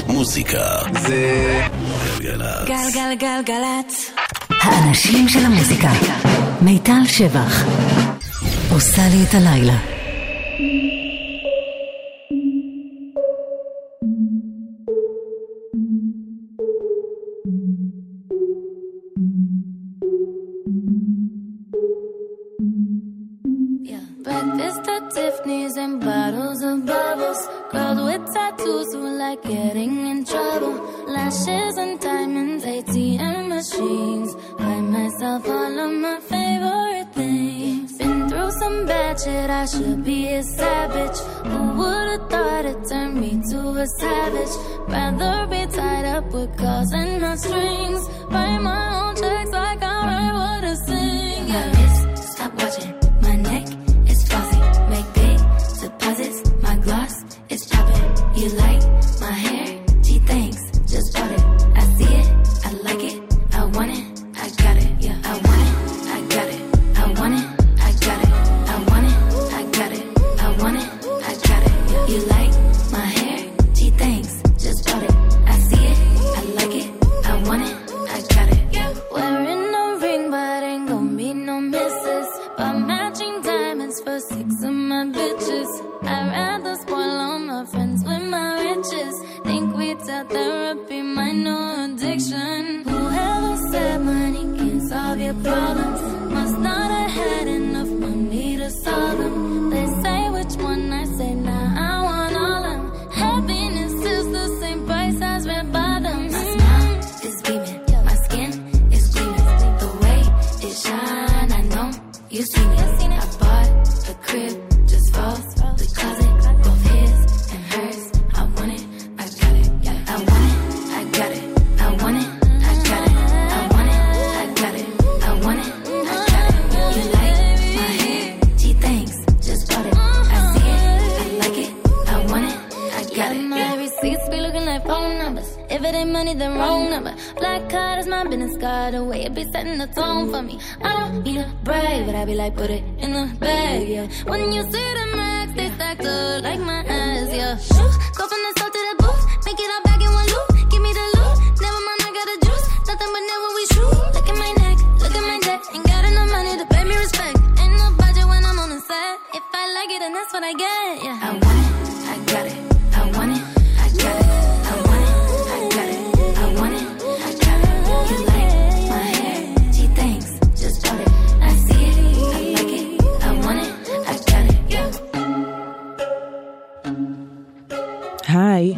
מוזיקה זה גלגלצ. גלגלגלגלצ. האנשים של המוזיקה. מיטל שבח עושה לי את הלילה. Breakfast at Tiffany's and bottles of bubbles. Girls with tattoos who like getting in trouble. Lashes and diamonds, ATM machines. Buy myself all of my favorite things. Been through some bad shit, I should be a savage. Who would've thought it turned me to a savage? Rather be tied up with calls and not strings. Write my own checks like I write what I sing. Yeah, stop watching my neck. Make big deposits, my gloss is popping. You like my hair? Gee, thanks, just bought it. I see it, I like it, I want it, I got it. Yeah, I want it, I got it, I want it, I got it, I want it, I got it, I want it, I got it. Yeah. You like my hair? Gee, thanks, just bought it. I see it, I like it, I want it, I got it. Yeah. Wearing no ring, but ain't gon' be no misses. But matching diamonds for 6 of my bitches. I'd rather spoil all my friends with my riches. Think we tell therapy my new addiction. Whoever said money can solve your problems must not have had enough money to solve them. They say which one, I say nah, I want all them. Happiness is the same price as red bottoms. My smile is beaming, my skin is gleaming. The way it shine, I know you seen it. I bought a crib just for the closet, both his and hers. I want it, I got it. I want it, I got it. I want it, I got it. I want it, I got it. I want it, I got it. You like my hair? Gee, thanks, just bought it. I see it, I like it. I want it, I got it. My receipts be looking like phone numbers. If it ain't money, then wrong number. Black card is my business card. The way it be setting the tone for me. I don't need a brag, but I be like, put it in the bag, yeah. When you see the max, they stacked up like my ass, yeah. Shoo, go from the south to the booth, make it all back in one loop. Give me the loot, never mind, I got a juice. Nothing but never we shoot. Look at my neck, look at my deck. Ain't got enough money to pay me respect. Ain't no budget when I'm on the set. If I like it, then that's what I get, yeah. I want it, I got it. I want it, I got it. I want it, I got it. I want it, I got it. You like my hair? Gee, thanks, just bought it. I see it, I like it. I want it, I got it. Yeah. היי,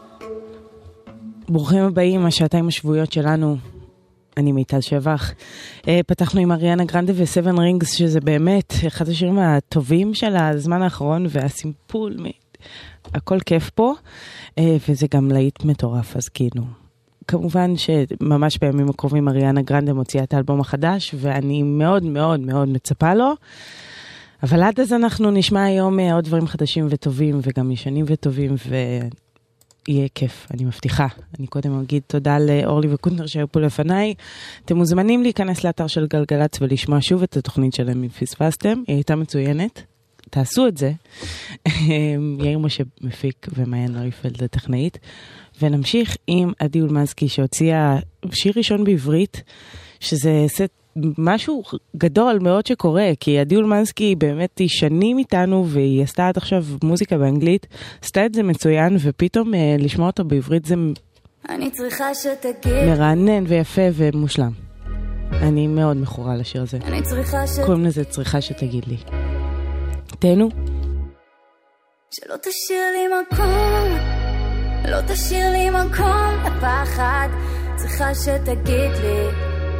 ברוכים הבאים, השעתיים השבועיות שלנו. אני מיטל שבח. פתחנו עם אריאנה גרנדה ו7 רינגס, שזה באמת אחד השירים הטובים של הזמן האחרון, והסימפול, הכל כיף פה, וזה גם להיט מטורף, אז כאילו. כמובן שממש בימים הקרובים אריאנה גרנדה מוציאה את האלבום החדש, ואני מאוד מאוד מאוד מצפה לו. אבל עד אז אנחנו נשמע היום עוד דברים חדשים וטובים, וגם ישנים וטובים, ויהיה כיף, אני מבטיחה. אני קודם אגיד תודה לאורלי וקונטנר שהיו פה לפניי. אתם מוזמנים להיכנס לאתר של גלגלצ ולשמוע שוב את התוכנית שלהם אם פספסתם. היא הייתה מצוינת. תעשו את זה. יאיר משה מפיק ומעיין ריפלד הטכנאית. ונמשיך עם עדי אולמנסקי שהוציאה שיר ראשון בעברית, שזה משהו גדול מאוד שקורה, כי עדי אולמנסקי באמת היא שנים איתנו, והיא עשתה עד עכשיו מוזיקה באנגלית, עשתה את זה מצוין, ופתאום לשמוע אותו בעברית זה אני צריכה שתגיד מרענן ויפה ומושלם. אני מאוד מכורה לשיר הזה. אני צריכה קוראים לזה צריכה שתגיד לי. תהנו. שלא תשאיר לי מקום, לא תשאיר לי מקום לפחד, צריכה שתגיד לי.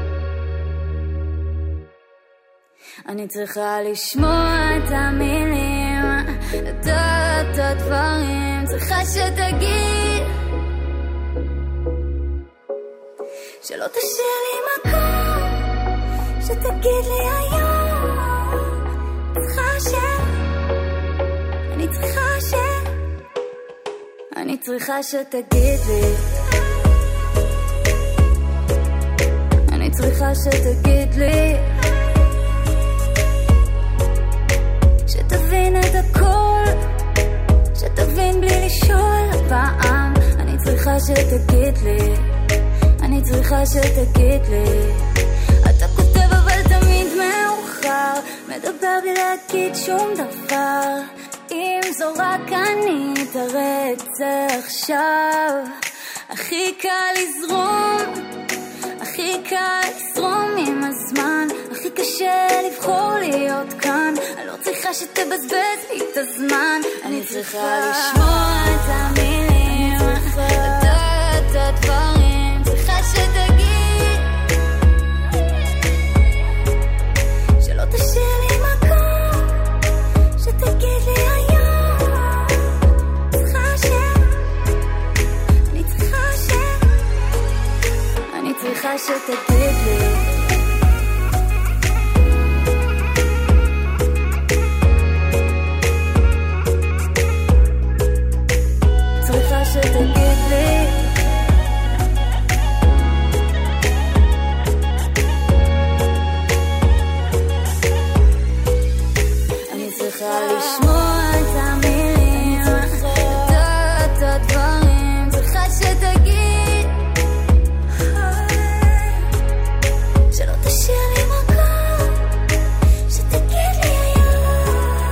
אני צריכה לשמוע את המילים, את הדברים, צריכה שתגיד, שלא תשאיר לי מקום, שתגיד לי היום, אני צריכה שתגיד לי, אני צריכה שתגיד לי, שתבין את הכל, שתבין בלי לשאול הפעם, אני צריכה שתגיד לי, אני צריכה שתגיד לי. אתה כותב אבל תמיד מאוחר, מדבר בלי להגיד שום דבר. אם זו רק אני תראה את זה עכשיו. הכי קל לזרום, הכי קל לזרום עם הזמן, הכי קשה לבחור להיות כאן. אני לא צריכה שתבזבז לי את הזמן, אני צריכה לשמוע את המילים, לדעת את הדברים, צריכה שתגיד, שלא תשאיר לי מקום, שתגיד לי היום. אני צריכה שתגיד לי, צריכה שתגיד לי, אני צריכה לשמוע את המילים, לדעת את הדברים, צריכה שתגיד, שלא תשאיר לי מקום, שתגיד לי היום.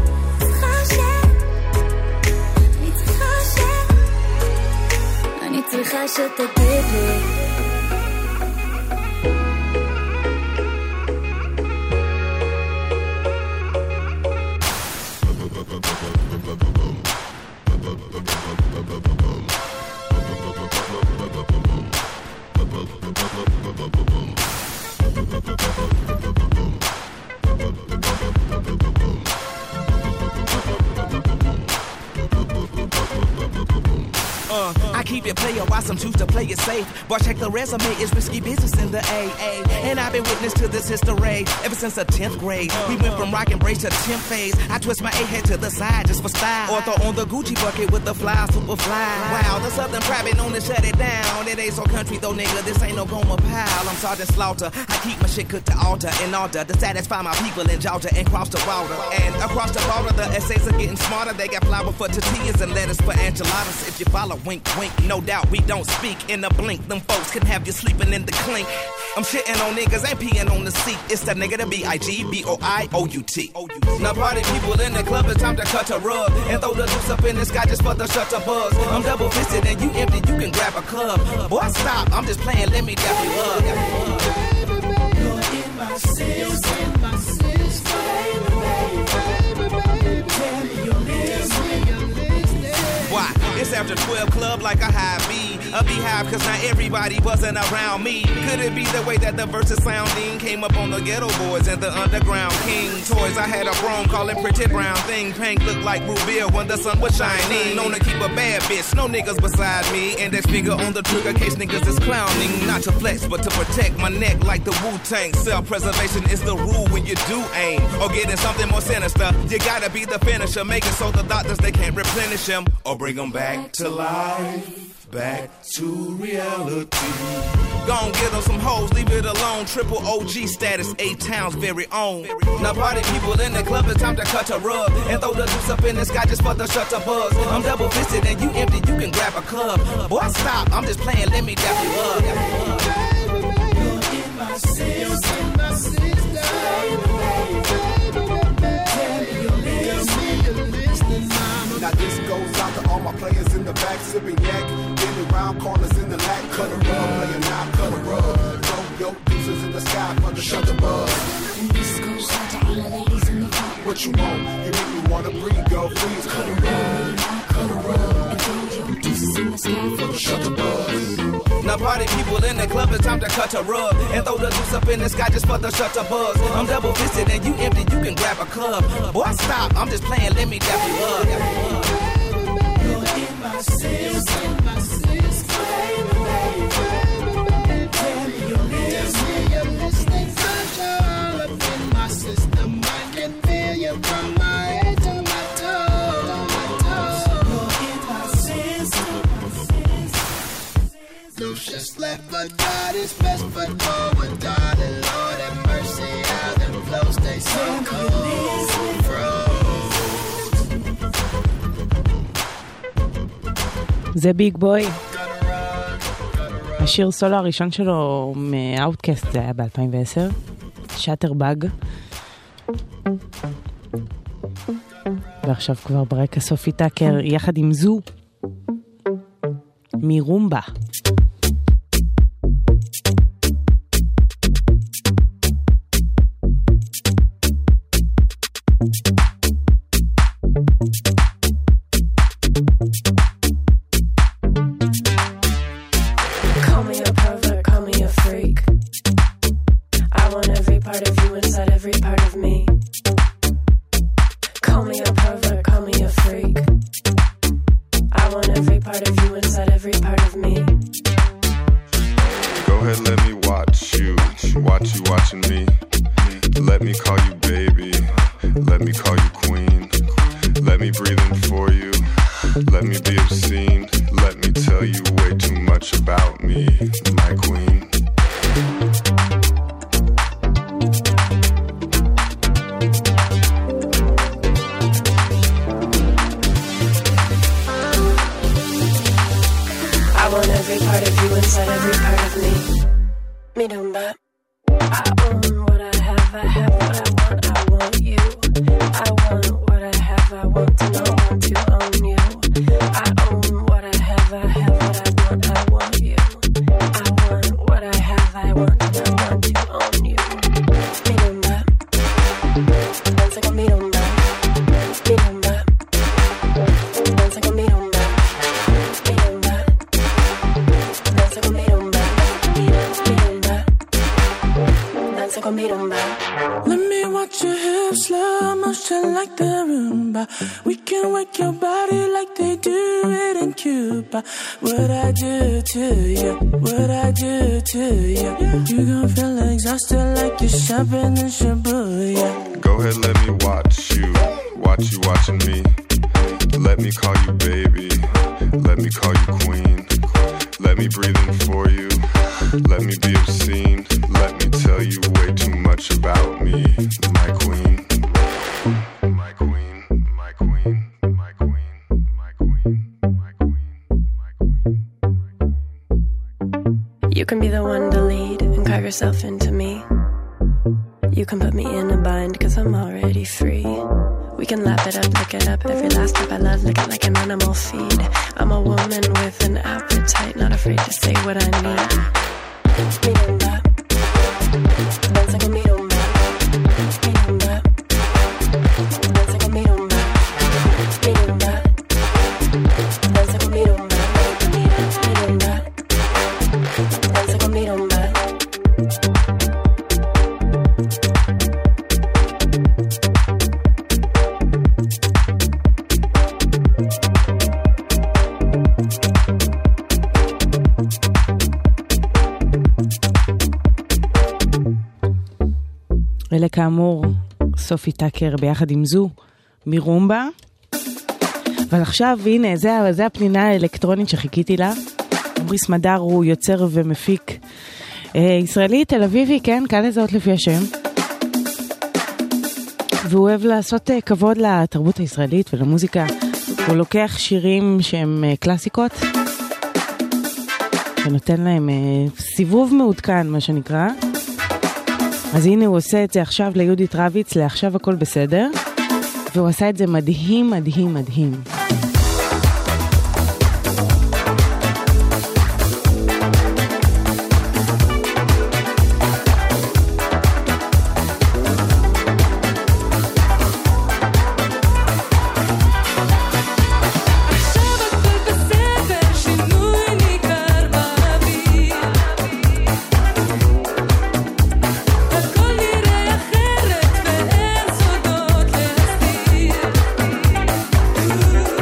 אני צריכה שתגיד לי, I keep it player while some choose to play it safe. Boy, check the resume, it's risky business in the AA. And I've been witness to this history ever since the 10th grade. We went from rock and brace to 10th phase. I twist my A-head to the side just for style, or throw on the Gucci bucket with the fly, super fly. Wow, the Southern private known to shut it down. It ain't so country though, nigga, this ain't no Goma pile. I'm Sergeant Slaughter, I keep my shit cooked to altar in order to satisfy my people in Georgia and cross the water. And across the border, the essays are getting smarter. They got flour for tortillas and lettuce for enchiladas. If you follow, wink, wink, no doubt we don't speak in a blink. Them folks can have you sleeping in the clink. I'm shitting on niggas, ain't peeing on the seat. It's the nigga, the B-I-G-B-O-I-O-U-T. Now party people in the club, it's time to cut a rug and throw the juice up in the sky just for the shutter buzz. I'm double fisted and you empty, you can grab a club. Boy, stop, I'm just playing, let me dap you up. You're in my system, tell me you're listening. Why? It's after 12 club like a high B. A beehive cause not everybody wasn't around me. Could it be the way that the verses sounding came up on the ghetto boys and the underground king toys? I had a broom calling pretty brown thing. Pink looked like Rubia when the sun was shining. Known to keep a bad bitch, no niggas beside me. Index finger on the trigger case niggas is clowning. Not to flex but to protect my neck like the Wu-Tang. Self-preservation is the rule when you do aim. Or getting something more sinister, you gotta be the finisher. Make it so the doctors they can't replenish him or bring them back to life. Back to reality. Gon' get on some hoes, leave it alone. Triple OG status, 8 towns very own. Now party people in the club, it's time to cut a rug and throw the juice up in the sky just for the shutter buzz. I'm double fisted and you empty, you can grab a club. Boy, stop, I'm just playing, let me dap you up. You're in my system, my system. Tell me you're listening. Now this goes out to all my players in the back, sipping yak, getting round corners in the lack, cut a rug, playing now, cut a rug. Throw your deuces in the sky for the shutter buzz. And this goes out to all the ladies in the front. What you want? You make me wanna breathe, girl, please cut a rug, cut a rug. And throw your deuces in the sky for the shutter buzz. Now party people in the club, it's time to cut a rug and throw the juice up in the sky just for the shutter buzz. I'm double fisted and you empty, you can grab a club. Boy, stop, I'm just playing, let me dap you up. You're in my system, my system. Tell me you're listening. All up in my system, I can feel you from my head to my toes. You're in my system. No shit's left, but God is best foot forward, darling. Lord have mercy, how them flows stay so cold. זה ביג בוי. השיר סולו הראשון שלו מאוטקאסט, זה היה ב-2010, שטרבאג. ועכשיו כבר ברקע סופי טאקר יחד עם זו מרומבה. Into me. You can put me in a bind cause I'm already free. We can lap it up, lick it up. Every last step I love, lick it like an animal feed. I'm a woman with an appetite, not afraid to say what I need. Mirumba, danza con mirumba. Mirumba, danza con mirumba. Mirumba, danza con mirumba. Mirumba, danza con mirumba. אלה כאמור סופי טאקר ביחד עם זו מרומבה. אבל עכשיו הנה זה הפנינה האלקטרונית שחיכיתי לה. עמרי סמדר הוא יוצר ומפיק ישראלי תל אביבי, כן, כאן לזהות לפי השם, והוא אוהב לעשות כבוד לתרבות הישראלית ולמוזיקה. הוא לוקח שירים שהם קלאסיקות ונותן להם סיבוב מעודכן, מה שנקרא. אז הנה הוא עושה את זה עכשיו ליהודית רביץ, לעכשיו הכל בסדר, והוא עשה את זה מדהים מדהים מדהים. Ooh.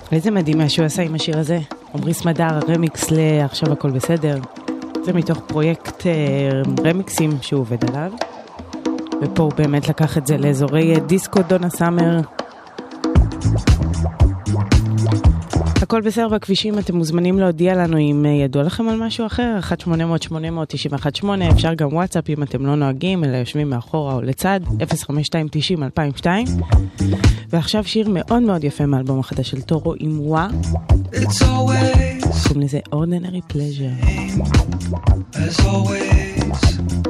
ואיזה מדהים שהוא עשה עם השיר הזה. עמרי סמדר, הרמיקס לעכשיו הכל בסדר. זה מתוך פרויקט רמיקסים שהוא עובד עליו. ופה הוא באמת לקח את זה לאזורי דיסקו דונה סאמר. הכל בסדר בכבישים, אתם מוזמנים להודיע לנו אם ידוע לכם על משהו אחר, 1-800-800-918, אפשר גם וואטסאפ אם אתם לא נוהגים, אלא יושבים מאחורה או לצד, 052-90-2002. ועכשיו שיר מאוד מאוד יפה מאלבום החדש של טורו עם וואה. קוראים לזה Ordinary Pleasure. As always,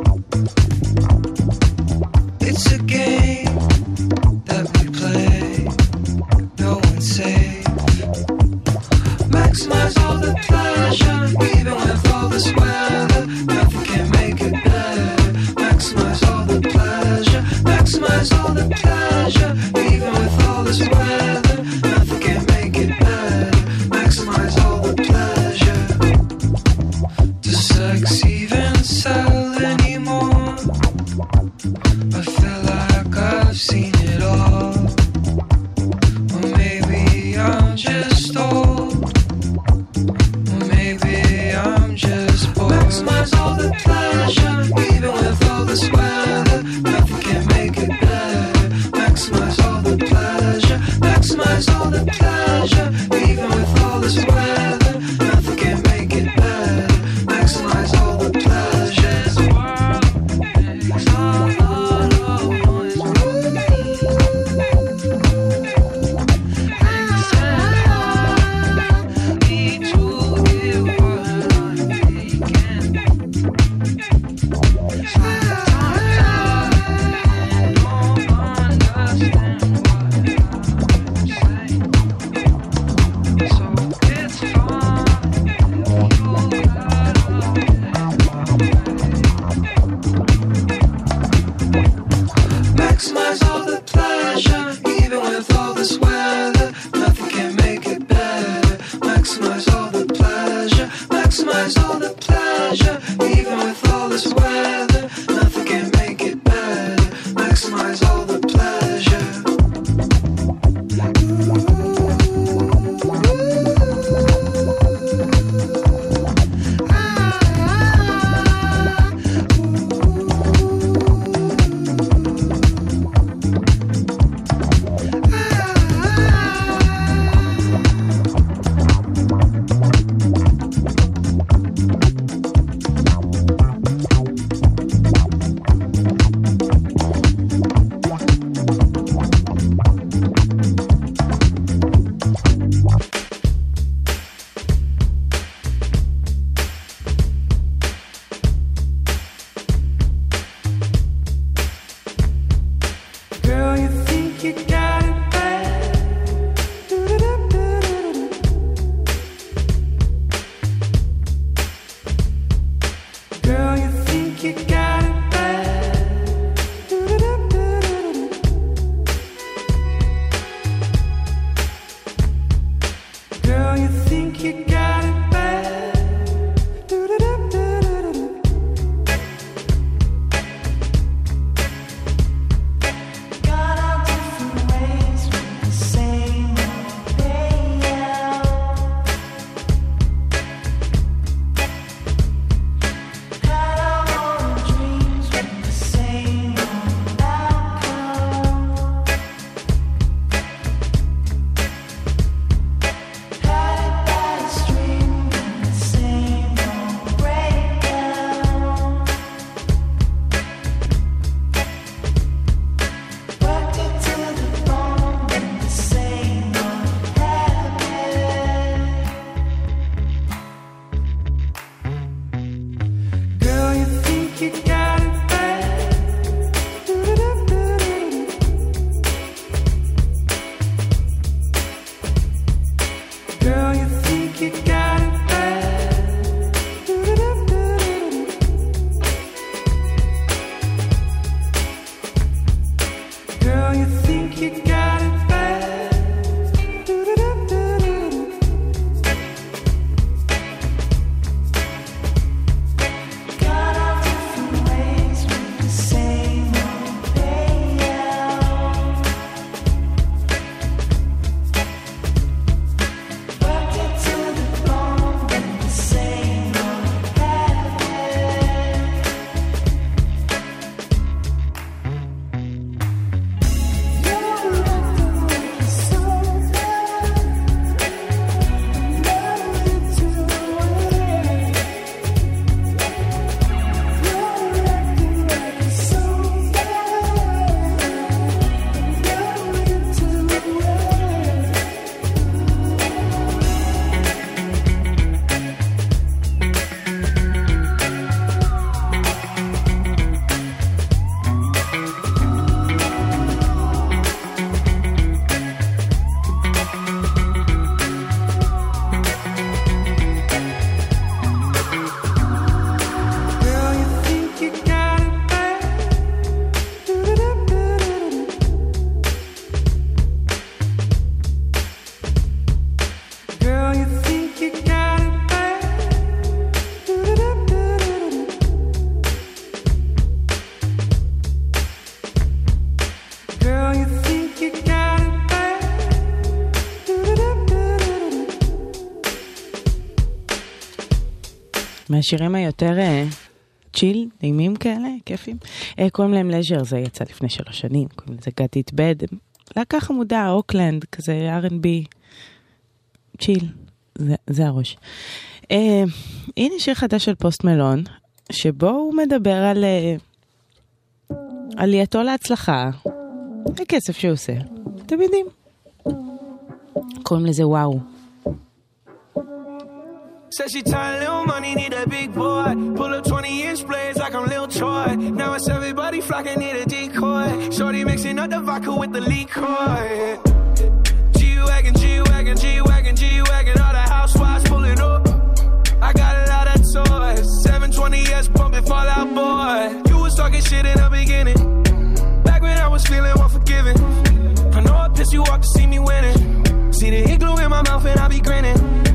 it's a game that we play, no one's safe. Maximize all the pleasure, even with all this weather, nothing can make it better. Maximize all the pleasure, maximize all the pleasure, even with all this weather, nothing can make it better. Maximize all the pleasure. Does sex even sell anymore? I feel like I've seen it all. Or maybe I'm just old. Or maybe I'm just bored. Maximize all the pleasure, even with all this weather, nothing can make it better. Maximize all the pleasure, maximize all the pleasure, even with all this weather, nothing can make it better. Maximize all the pleasures. Maximize all the pleasure, even with all this weather, nothing can make it better. Maximize all the pleasure, maximize all the pleasure, even with all this weather, nothing can make it better. Maximize all the pleasure. Girl, you think you got it bad. Girl, you think you got it bad. Girl, you think you got it bad. Got out different ways with the same old payout. Had our own dreams with the same old outcome. Had it by a string with the same old breakdown. Worked it to the bone with the same old habit. Girl, you think you got it bad. Girl, you think you got it bad. Girl, you think you got it bad. Got out different ways with the same old payout. מהשירים היותר צ'יל, נעימים כאלה, כיפים. קוראים להם לז'ר, זה יצא לפני 3 שנים, קוראים לזה Got It Bad. להקה חמודה, אוקלנד, כזה R&B, צ'יל, זה הראש. הנה שיר חדש של פוסט מלון, שבו הוא מדבר על עלייתו להצלחה, הכסף שהוא עושה. אתם יודעים. קוראים לזה וואו. Said she tired, little money, need a big boy. Pull up 20-inch blades like I'm Lil Troy. Now it's everybody flocking, need a decoy. Shorty mixing up the vodka with the liquor. G-Wagon, G-Wagon, G-Wagon, G-Wagon. All the housewives pulling up. I got a lot of toys. 720S bumping Fall Out Boy. You was talking shit in the beginning. Back when I was feeling unforgiving. I know I pissed you off to see me winning. See the igloo in my mouth and I be grinning.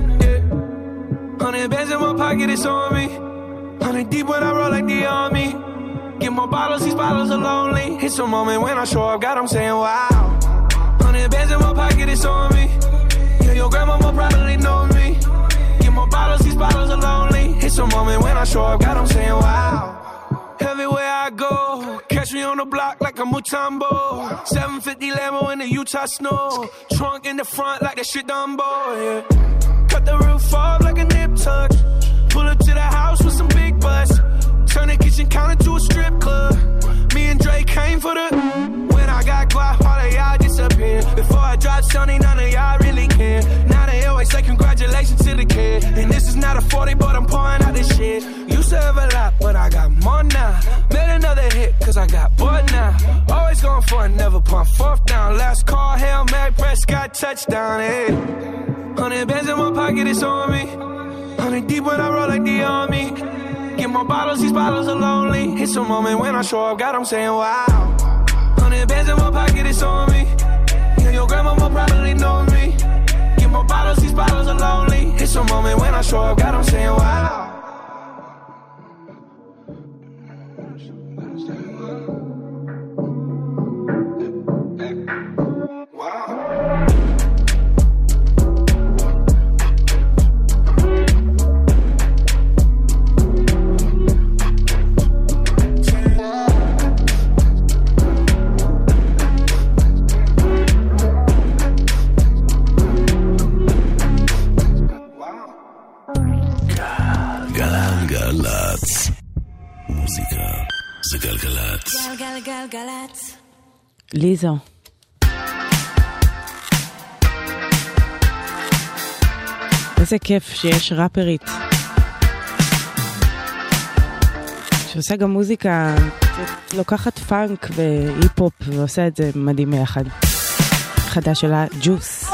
100 bands in my pocket, it's on me. 100 deep when I roll like the army. Get more bottles, these bottles are lonely. It's a moment when I show up, God, I'm saying wow. 100 bands in my pocket, it's on me. Yeah, your grandma will probably know me. Get more bottles, these bottles are lonely. It's a moment when I show up, God, I'm saying wow. Everywhere I go, catch me on the block like a Mutombo. 750 Lambo in the Utah snow. Trunk in the front like that shit Dumbo, yeah. Cut the roof off like a nip tuck. Pull up to the house with some big butts. Turn the kitchen counter to a strip club. Me and Drake came for the. When I got guap, all of y'all disappear. Before I drop Sony, none of y'all really care. Now they always say congratulations to the kid. And this is not a 40, but I'm pouring out this shit. Used to have a lot, but I got more now. Made another hit, cause I got bored now. Always going for it, never pump fourth down. Last call, Hail Mary, Prescott, touchdown, hey. 100 bands in my pocket, it's on me. 100 deep when I roll like the army. Get more bottles, these bottles are lonely. It's a moment when I show up, God, I'm saying wow. 100 bands in my pocket, it's on me. Yeah, your grandma will probably know me. Get more bottles, these bottles are lonely. It's a moment when I show up, God, I'm saying wow. גלגלצ. מוזיקה זה גלגלצ. גלגלגלגלצ. ליזו. איזה כיף שיש ראפרית שעושה גם מוזיקה, לוקחת פאנק והיפ-הופ ועושה את זה מדהים ביחד. חדש שלה, ג'וס.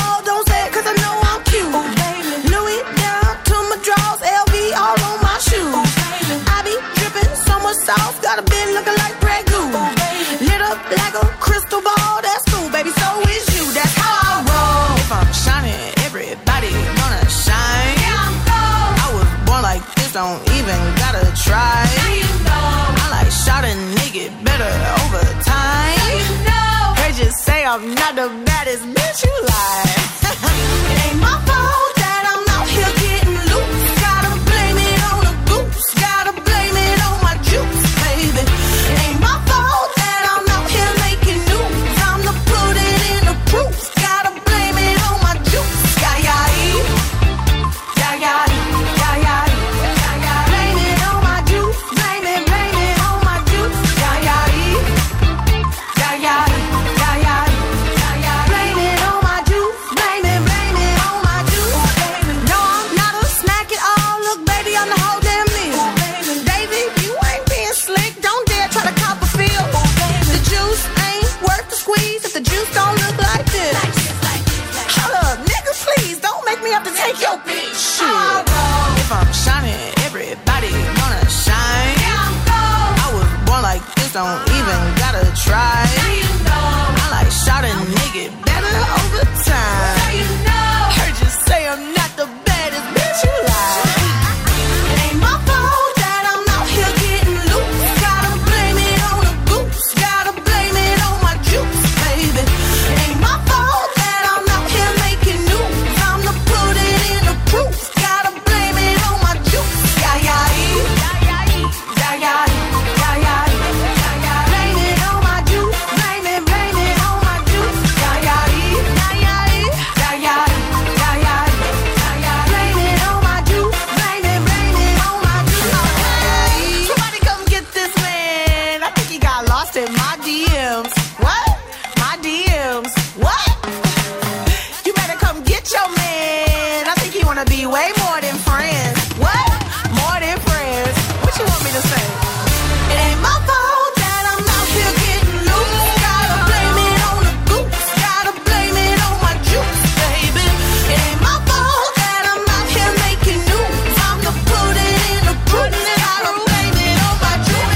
All on my shoes. I be dripping so much sauce, got a bit looking like Prego. Lit up like a crystal ball, that's cool, baby. So is you, that's how I roll. If I'm shining, everybody gonna shine. Yeah, I'm gold. I was born like this, don't even gotta try. Now you know. I like shot a nigga better over time. Now you know. They just say I'm not the baddest bitch, you lie. It ain't my fault that I'm out here getting loose. Don't even gotta try. Now you know. I like shot a nigga better over time. Now you know. Heard you say I'm not the baddest bitch, you lie. It ain't my fault that I'm out here getting loose. Gotta blame it on the goose. Gotta blame it on my juice, baby. It ain't my fault that I'm out here making news. I'm to put it in the proof. Gotta blame it on my juice. Yeah, wanna be way more than friends. What? More than friends. What you want me to say? It ain't my fault that I'm out here getting loose. Gotta blame it on the goose. Gotta blame it on my juice, baby. It ain't my fault that I'm out here making news. I'm the put it in the proof. Gotta blame it on my juice.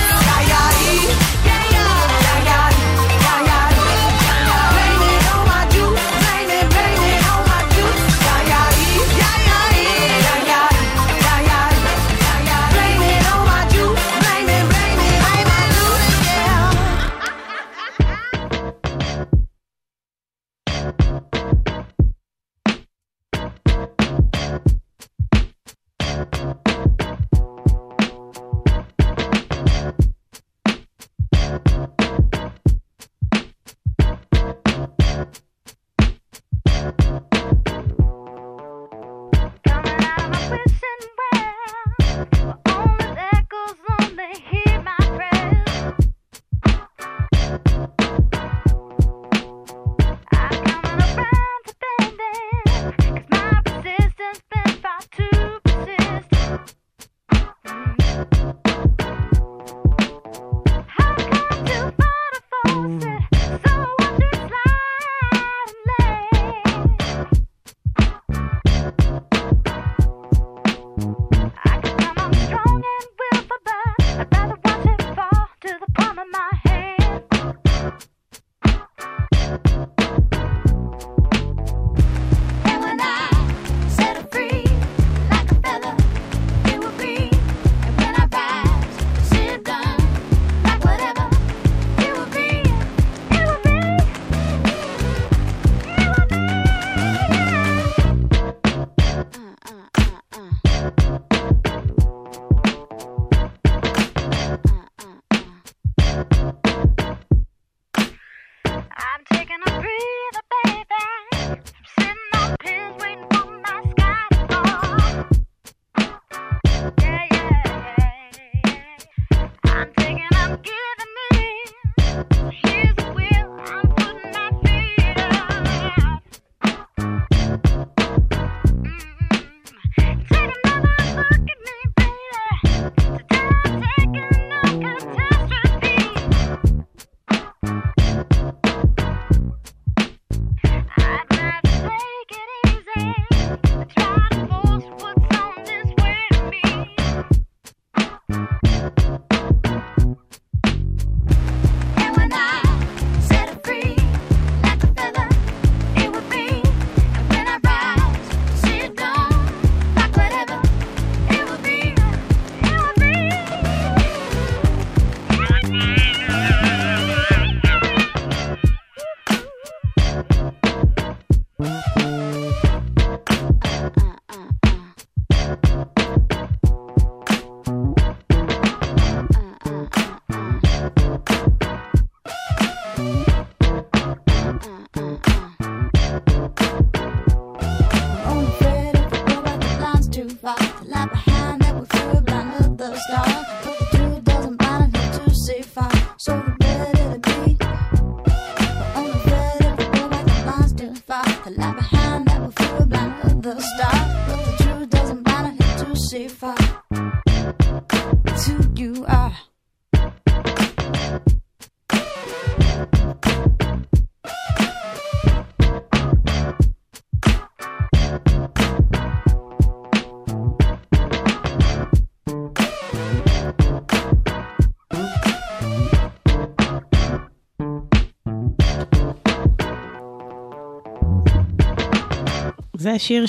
זה השיר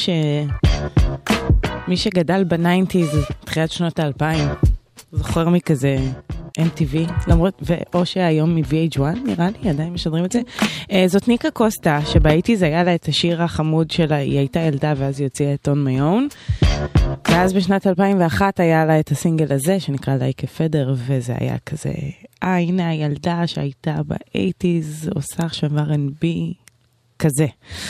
שמי שגדל בניינטיז, תחילת שנות ה-2000, זוכר מכזה MTV, למרות, או שהיום מ-VH1, נראה לי, עדיין משדרים את זה. זאת ניקה קוסטה, שבאיטיז היה לה את השיר החמוד שלה, היא הייתה ילדה ואז היא הוציאה את On My Own, ואז בשנת 2001 היה לה את הסינגל הזה, שנקרא Like a Feather, וזה היה כזה, הנה הילדה שהייתה באיטיז, עושה עכשיו R&B, כזה.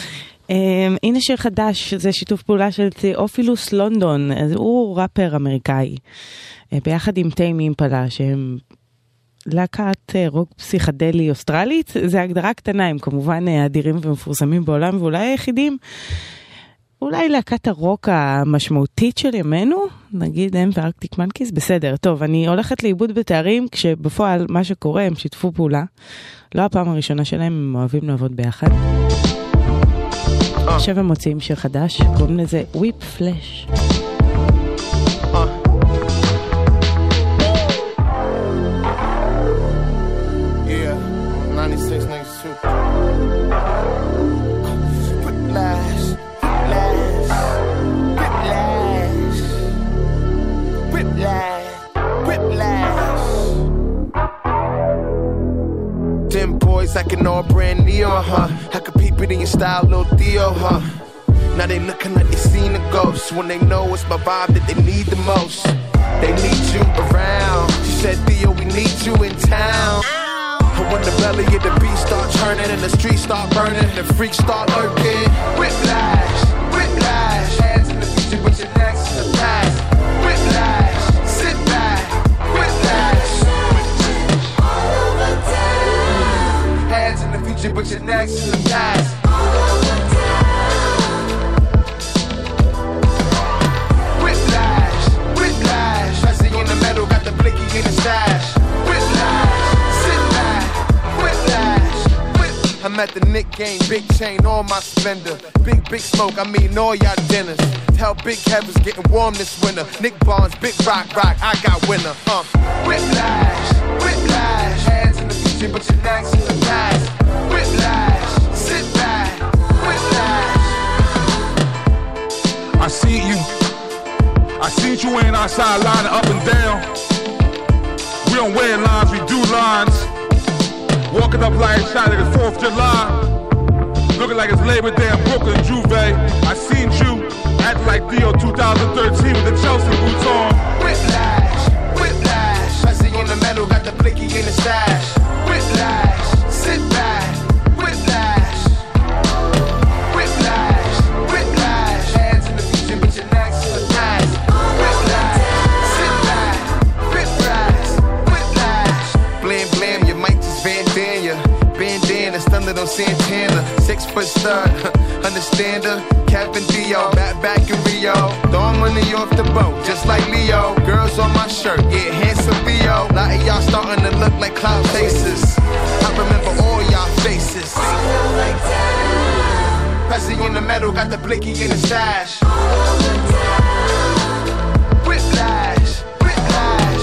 הנה שיר חדש, זה שיתוף פעולה של תיאופילוס לונדון, הוא ראפר אמריקאי, ביחד עם טיימי אימפלה, שהם להקת רוק פסיכדלי אוסטרלית, זה הגדרה קטנה, הם כמובן אדירים ומפורסמים בעולם, ואולי היחידים. אולי להקת הרוק המשמעותית של ימינו, נגיד הם וארקטיק מנקיז, בסדר, טוב, אני הולכת לאיבוד בתארים, כשבפועל מה שקורה, הם שיתפו פעולה, לא הפעם הראשונה שלהם, הם אוהבים לעבוד ביחד. עכשיו הם מוציאים שיר חדש, קוראים לזה וויפ פלאש. Like all brand neon, huh? I could peep it in your style, little Theo, huh? Now they looking like they seen a ghost when they know it's my vibe that they need the most. They need you around. She said, Theo, we need you in town. And when the belly of the beast start turning and the streets start burning, the freaks start lurking. Whiplash, whiplash. Hands in the future, but your neck's in the past. Whiplash, sit back. Whiplash. All over town. Hands in the future, but your neck's in the past. All over town. Whiplash, whiplash. I see you in the metal, got the blicky in the stash. Whiplash. I'm at the Nick game, big chain on my Splendor. Big smoke, I mean all y'all dinners. Tell Big Kevin's getting warm this winter. Nick Barnes, big rock, I got winner. Whiplash, whiplash. Hands in the future, but your neck's in the past. Whiplash, sit back. Whiplash. I see you ain't outside lining up and down. We don't wear lines, we do lines. Walking up like shot like it's 4th of July. Looking like it's Labor Day in Brooklyn, Juve. I seen you acting like Theo 2013 with the Chelsea boots on. Whiplash, whiplash. I see you in the metal, got the blicky in the stash. Whiplash, sit back. Whiplash, whiplash, whiplash. Hands in the future, but your neck's in the past. Whiplash, sit back. Whiplash, whiplash. Blam, blam, you might just bandana. Bandana, stunned on Santana. 6 foot stud, understand her. Kevin Dio, back in Rio. Throwing money off the boat, just like Leo. Girls on my shirt, yeah, handsome Theo. A lot of y'all starting to look like cloud faces. I remember all y'all faces. Pressing in the metal, got the blicky in the stash. Whiplash, whiplash.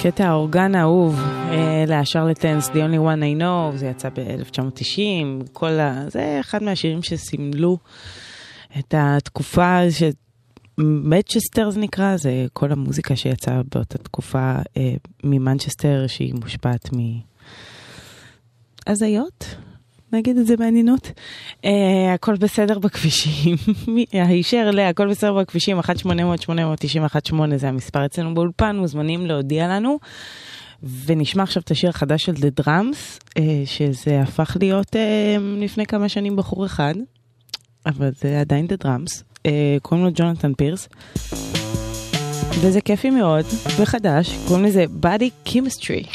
קטע האורגן האהוב לשרלטנס, The Only One I Know, זה יצא ב-1990, זה אחד מהשירים שסימלו את התקופה שמנצ'סטר זה נקרא, זה כל המוזיקה שיצאה באותה תקופה ממנצ'סטר שהיא מושפעת מהזיות, נגיד את זה בעניינות. הכל בסדר בכבישים, הישר הכל בסדר בכבישים, 1-800-891-8 זה המספר אצלנו באולפן, מוזמנים להודיע לנו, ונשמע עכשיו את השיר החדש של The Drums, שזה הפך להיות לפני כמה שנים בחור אחד, אבל זה עדיין The Drums, קוראים לו ג'ונתן פירס, וזה כיפי מאוד, וחדש, קוראים לזה Body Chemistry.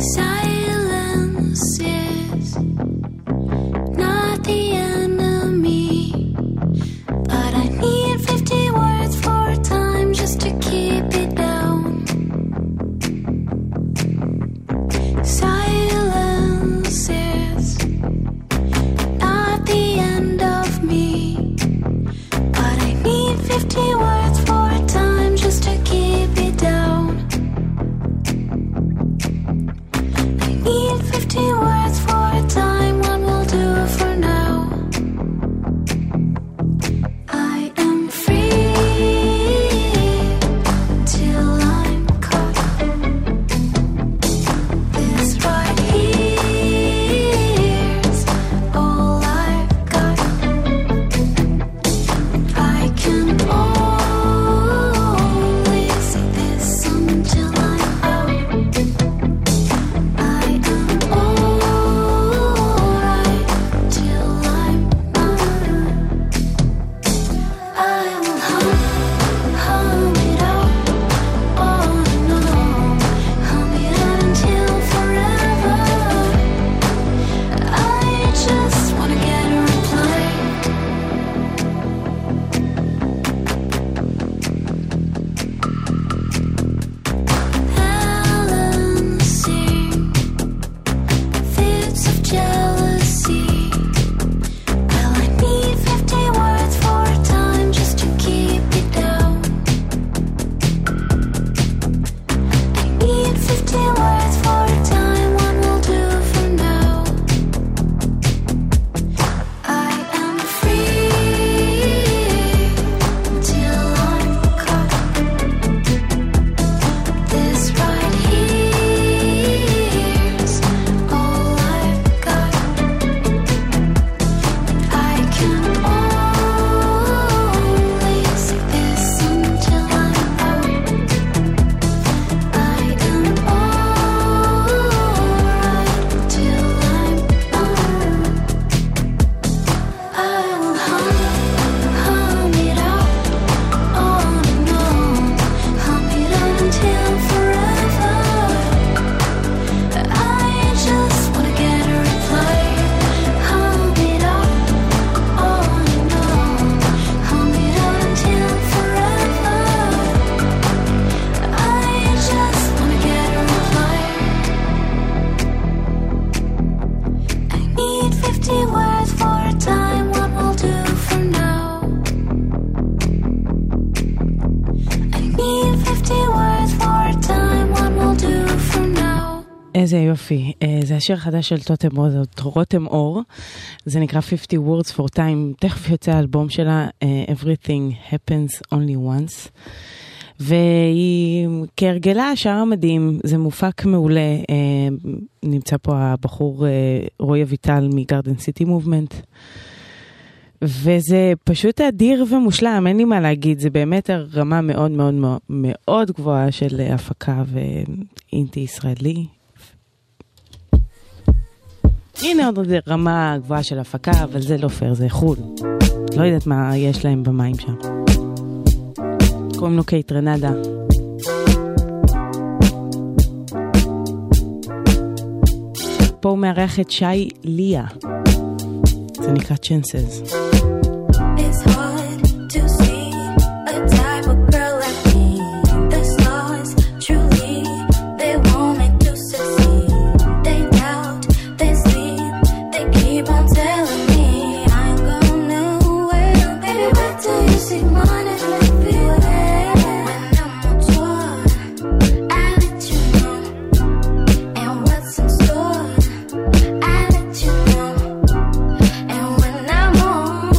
Silence is not the enemy, but I need 50 words for time just to keep it down. Silence is not the end of me, but I need 50 words for time just to keep it down. I need 50 words for time, one will do for now. I am free till I'm caught. This right here's all I've got. I can only see this until I'm out. I am alright till I'm not. I will hum it out on and on, hum it out until forever. I just wanna get a reply. Balancing fits of jealousy. Well, I need 50 words for time just to keep it down. I need 50 words for time, one will do for now. I am free till I'm caught. This right here's all I've got. I can only see this until I'm out. I am alright till I'm not. I will hum it out on and on, hum it out until forever. I just wanna get a reply. Hum it out on and on, hum it out until forever. I just wanna get a reply. I need 50 words for a time, what will do for now. I need 50 words for a time, what will do for now. איזה יופי, זה השיר החדש של רותם אור, זה נקרא 50 Words for Time, תכף יוצא האלבום שלה, Everything Happens Only Once, והיא כהרגלה שרה מדהים, זה מופק מעולה, נמצא פה הבחור רוי אביטל מגרדן סיטי מובמנט, וזה פשוט אדיר ומושלם, אין לי מה להגיד, זה באמת הרמה מאוד מאוד מאוד גבוהה של הפקה ואינטי ישראלי. הנה עוד רמה גבוהה של הפקה, אבל זה לא פייר, זה חול. לא יודעת מה יש להם במים שם. קוראים לו קייט רנדה. פה הוא מארח את שי ליה. זה נקרא Chances. It's hard to see a type of girl like me. The stars truly, they want me to succeed. They doubt, they sleep, they keep on telling me I'm going nowhere. Baby, wait till you see money everywhere. When I'm on tour, I let you know. And what's in store, I let you know. And when I'm home,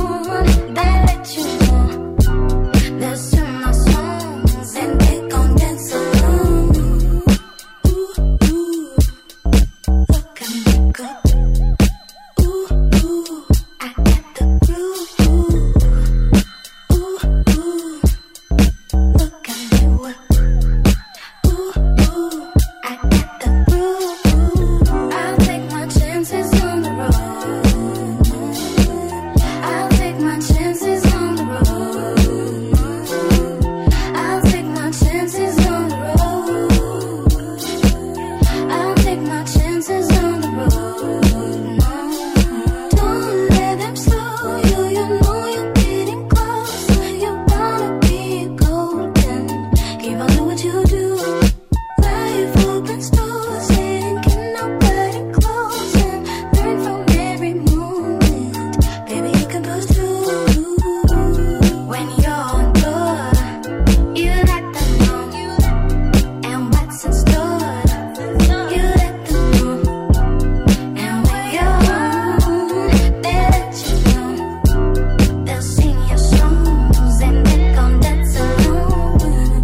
what you do. Life open stores and can nobody close and learn from every moment. Baby, you can push through. When you're on tour, you let them know. And what's in store, you let them know. And when you're home, they let you know. They'll sing your songs and they're gon' dance along.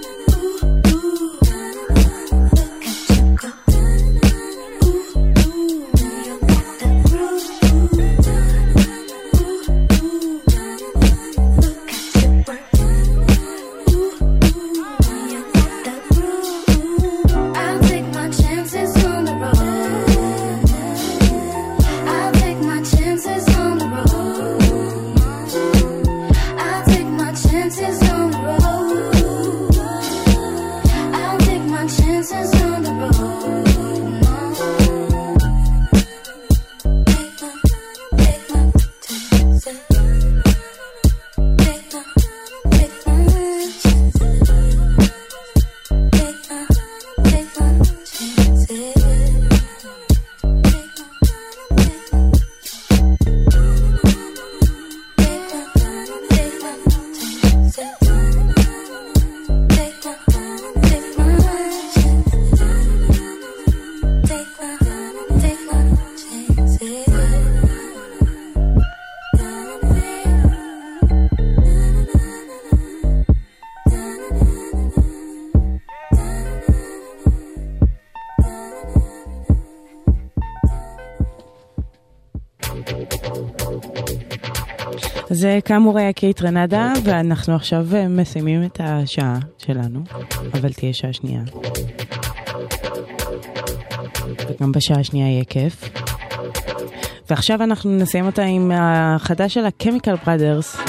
I'll take my chances on the road. I'll take my chances on the road. I'll take my chances on the road. I'll take my chances on the road. זה כאמור היה קייט רנדה, ואנחנו עכשיו מסיימים את השעה שלנו, אבל תהיה שעה שנייה. וגם בשעה השנייה יהיה כיף. ועכשיו אנחנו נסיים אותה עם החדש של ה-Chemical Brothers,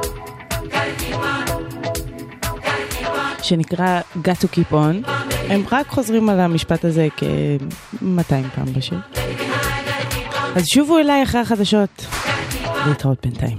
שנקרא Got to Keep On. הם רק חוזרים על המשפט הזה כ-200 פעם בשיר. אז שובו אליי אחרי החדשות, להתראות בינתיים.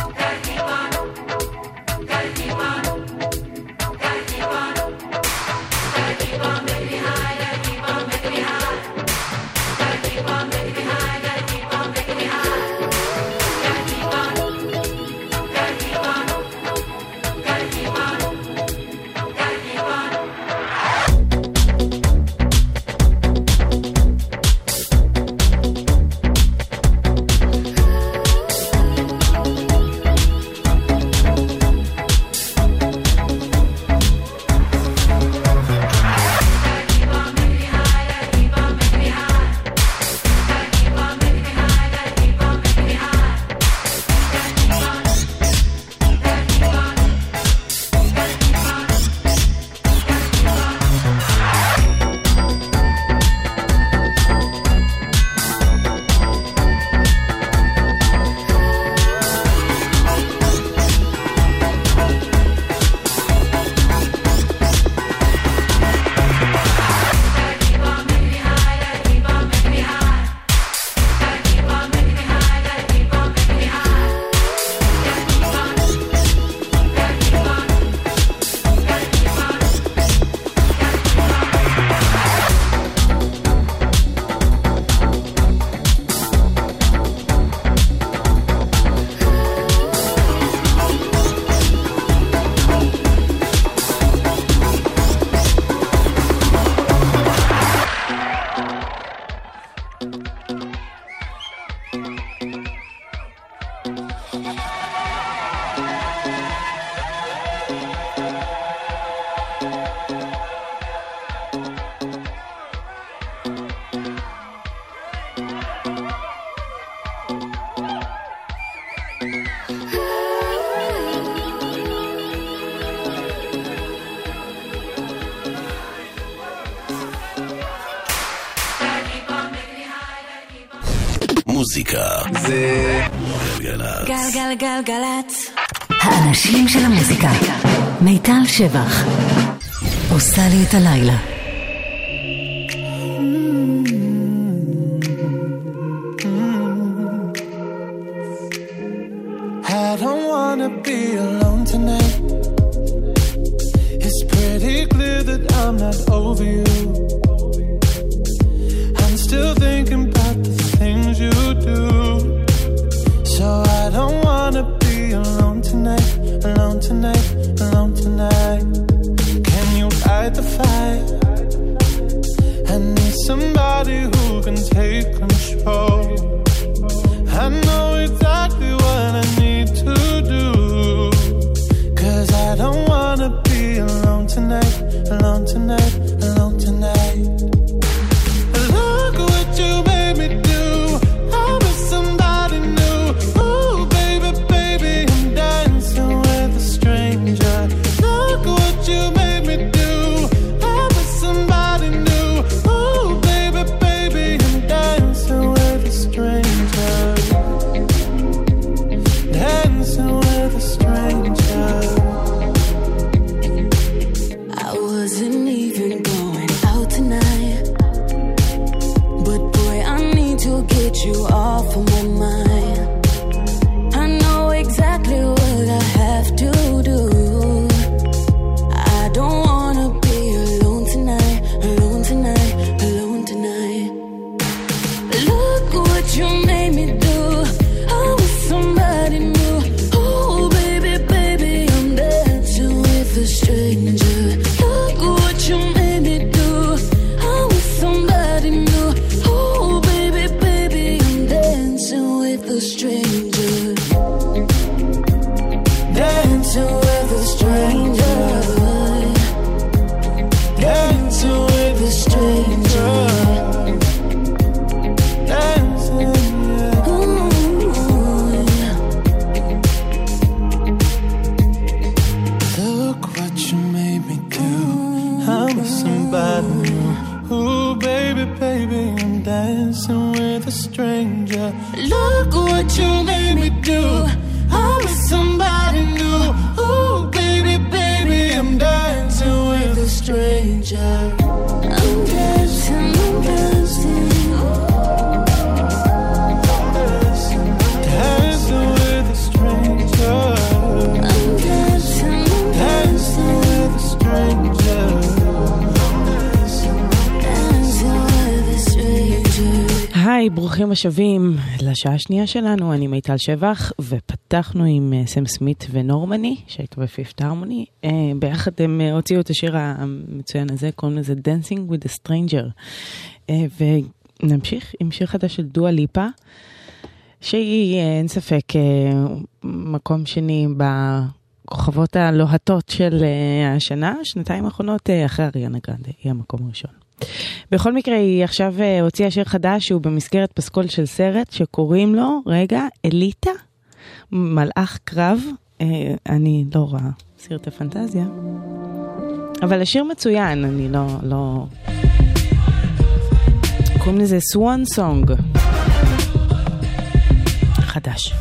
מוזיקה זה גלגלצ. גלגלגלגלצ. האנשים של המוזיקה. מיטל שבח עושה לי את הלילה. I don't wanna be alone tonight. It's pretty clear that I'm not over you. I'm still thinking about the things you do. So I don't wanna be alone tonight, alone tonight, alone tonight. Can you fight the fight? I need somebody who can take control. I know exactly what I need to do. 'Cause I don't wanna be alone tonight, alone tonight, alone tonight. Look what you made me do. I was somebody new. Ooh, baby, baby, I'm dancing with a stranger. Look what you made me do. I was somebody new. Ooh, baby, baby, I'm dancing with a stranger. Dancing with a stranger. I wasn't even going out tonight, but boy, I need to get you off of my mind. I know exactly what I have to do. I don't wanna be alone tonight, alone tonight, alone tonight. Look what you made me do. I was somebody new. Oh baby, baby, I'm dancing with a stranger. Look what you made me do. I was somebody new. Oh baby, baby, I'm dancing with a stranger. Dancing with a stranger. Dancing with a stranger. Dancing, yeah. Look what you made me do. I'm somebody new. Ooh, baby, baby, I'm dancing with a stranger. Look what you made me do. I'm somebody new. Ooh, baby, baby, I'm dancing with a stranger. I'm dancing, I'm dancing. Dancing with a stranger. I'm dancing, I'm Dancing with a stranger. dancing with a stranger. היי, ברוכים השבים לשעה השנייה שלנו, אני מיטל שבח, ופתחנו עם סם סמית ונורמני, שהייתה בפיפט הרמוני. ביחד הם הוציאו את השיר המצוין הזה, קוראים לזה Dancing with a Stranger. ונמשיך עם שיר חדש של דואה ליפה, שהיא, אין ספק, מקום שני בכוכבות הלוהטות של השנה, שנתיים האחרונות, אחרי אריאנה גרנדה, היא המקום הראשון. בכל מקרה, היא עכשיו הוציאה שיר חדש שהוא במסגרת פסקול של סרט שקוראים לו, רגע, אליטה, מלאך קרב. אני לא רואה סרט הפנטזיה, אבל השיר מצוין, אני לא... קוראים לזה Swan Song. חדש.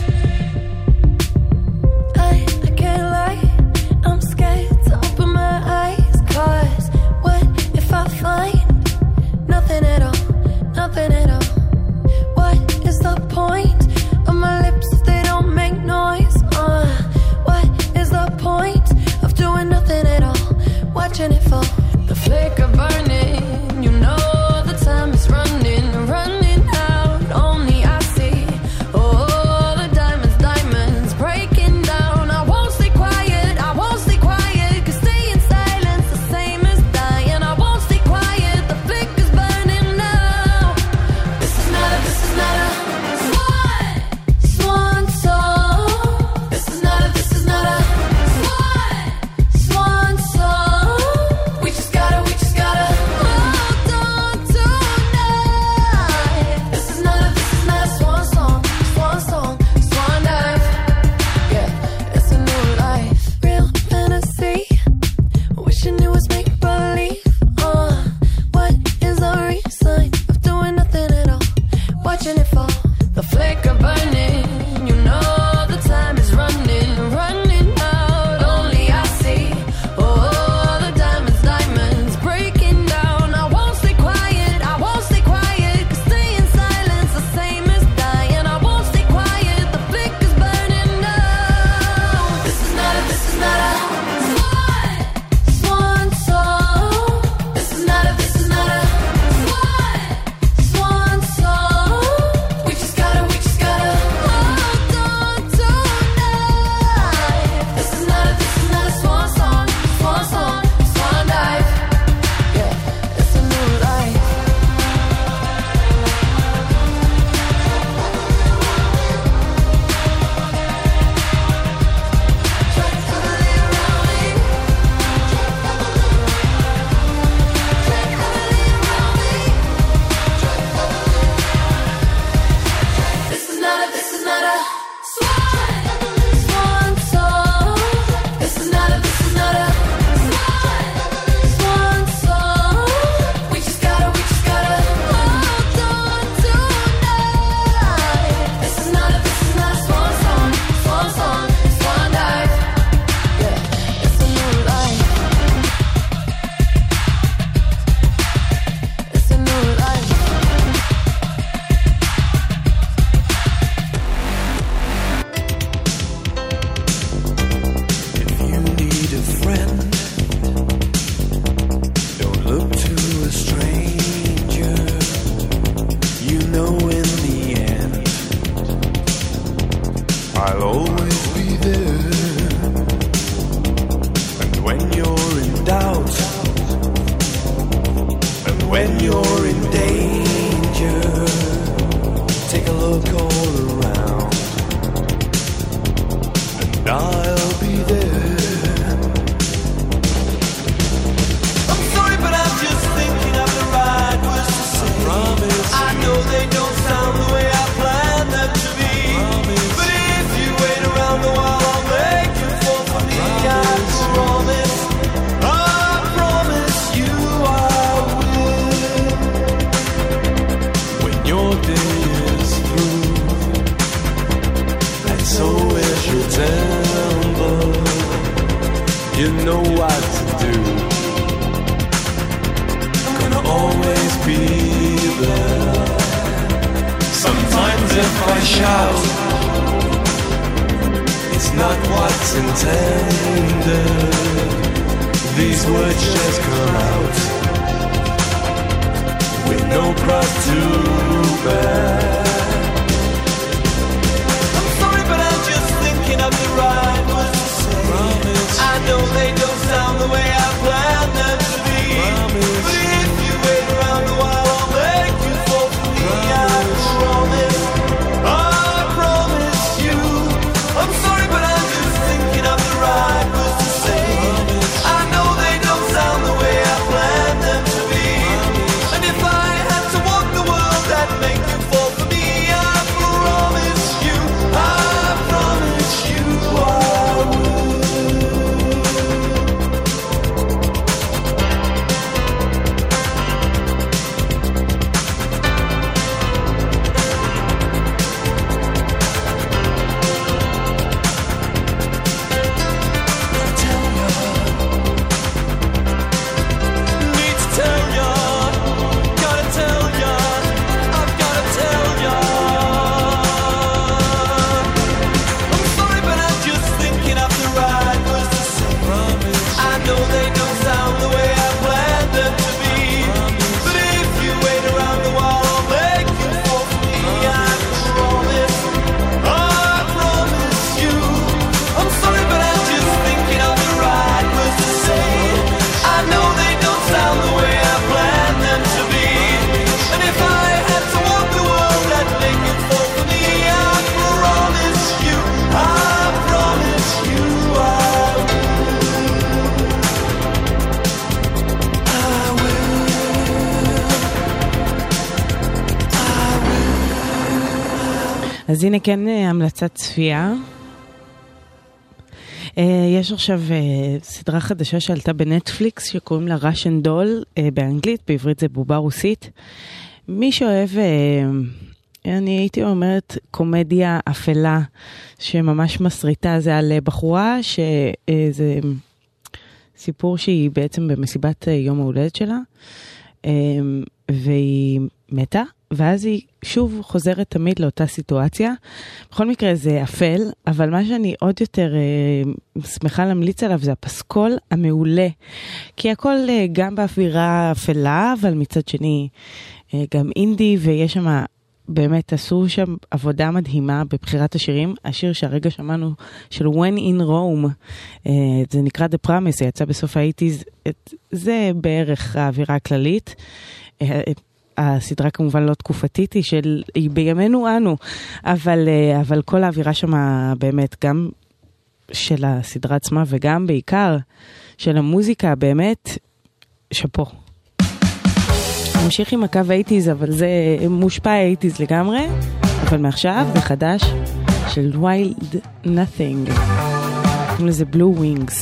I can't lie, I'm scared to open my eyes. 'Cause what if I find nothing at all, nothing at all? What is the point of my lips if they don't make noise? What is the point of doing nothing at all? Watching it fall, the flicker burning, you know the time is running, running out. Only I see all the diamonds, diamonds breaking down. I won't stay quiet, I won't stay quiet, 'cause stay in silence the same as dying. I won't stay quiet, the flicker's burning now. This is not a swan song. This is not a swan song. We just gotta hold on tonight. This is not a swan song, swan dive. Yeah, it's a new life, real fantasy. Wishing it was make believe. What is the reason of doing nothing at all? Watching it fall, the flicker burning. You know the time is running, running out. Only I see all the diamonds, diamonds breaking down. I won't stay quiet, I won't stay quiet, 'cause stay in silence the same as dying. I won't stay quiet, the flicker's burning now. This is not a swan song. hearts in tender. These words just come out with no cross to bear. I'm sorry, but I'm just thinking of the right words to say. Promise. I know they don't sound the way I planned them to be. Promise. But if you wait around a while, I'll make you fall for me. Promise. I promise. I promise you. I'm sorry, but I'm just thinking of the right words to say. Promise. I know they don't sound the way I planned them to be. Promise. And if I had to walk the world, I'd make you fall for me. I promise you. I promise you I would. אז הנה כן המלצת צפייה. יש עכשיו סדרה חדשה שעלתה בנטפליקס שקוראים לה Russian Doll באנגלית, בעברית זה בובה רוסית. מי שאוהב, אני הייתי אומרת קומדיה אפלה שממש מסריטה, זה על בחורה שזה סיפור שהיא בעצם במסיבת יום ההולדת שלה והיא מתה. ואז היא שוב חוזרת תמיד לאותה סיטואציה. בכל מקרה זה אפל, אבל מה שאני עוד יותר שמחה להמליץ עליו זה הפסקול המעולה. כי הכל גם באווירה אפלה, אבל מצד שני גם אינדי, ויש שם, באמת עשו שם עבודה מדהימה בבחירת השירים. השיר שהרגע שמענו של When in Rome, זה נקרא The Promise, זה יצא בסוף ה-80s, זה בערך האווירה הכללית. הסדרה כמובן לא תקופתית, היא בימינו אנו, אבל כל האווירה שם באמת, גם של הסדרה עצמה וגם בעיקר של המוזיקה, באמת שפו. נמשיך עם הקו 80s, אבל זה מושפע 80s לגמרי, אבל מעכשיו זה חדש של Wild Nothing, קוראים לזה Blue Wings.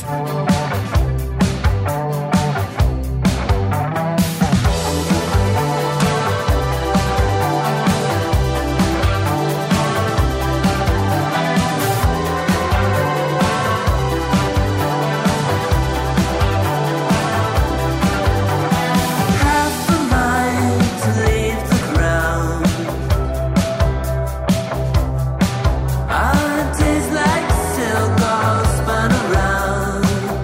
Like silk all spun around.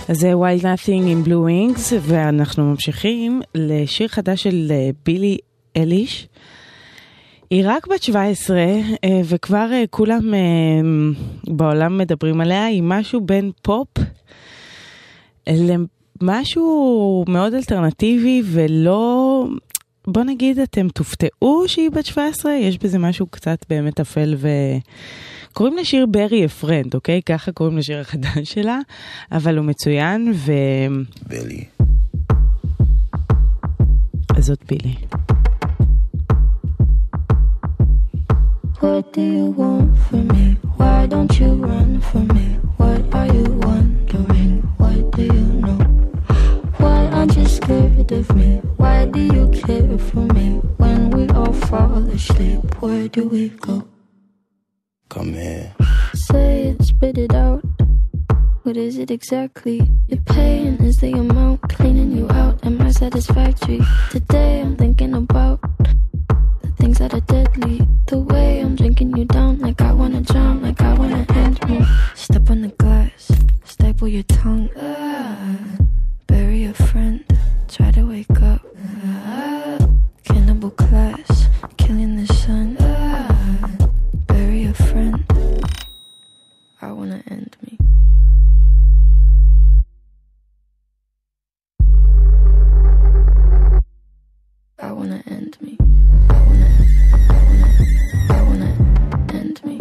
אז זה Wild Nothing in Blue Wings, ואנחנו ממשיכים לשיר חדש של בילי אליש. היא רק בת 17, וכבר כולם בעולם מדברים עליה. היא משהו בין פופ למשהו מאוד אלטרנטיבי, ולא, בוא נגיד, אתם תופתעו שהיא בת 17, יש בזה משהו קצת באמת אפל קוראים לשיר ברי אפרנד, אוקיי? ככה קוראים לשיר החדש שלה, אבל הוא מצוין בילי. אז זאת בילי. What do you want from me? Why don't you run from me? What are you wondering? What do you know? Why aren't you scared of me? Why do you care for me? When we all fall asleep, where do we go? Come here. Say it, spit it out. What is it exactly? Your pain is the amount cleaning you out. Am I satisfactory? Today I'm thinking about the things that are deadly. The way I'm drinking you down, like I wanna drown, like I wanna end me. Step on the glass, staple your tongue. Bury a friend, try to wake up. Cannibal class, killing the sun. Bury a friend, I wanna end me. I wanna end me. I wanna end me.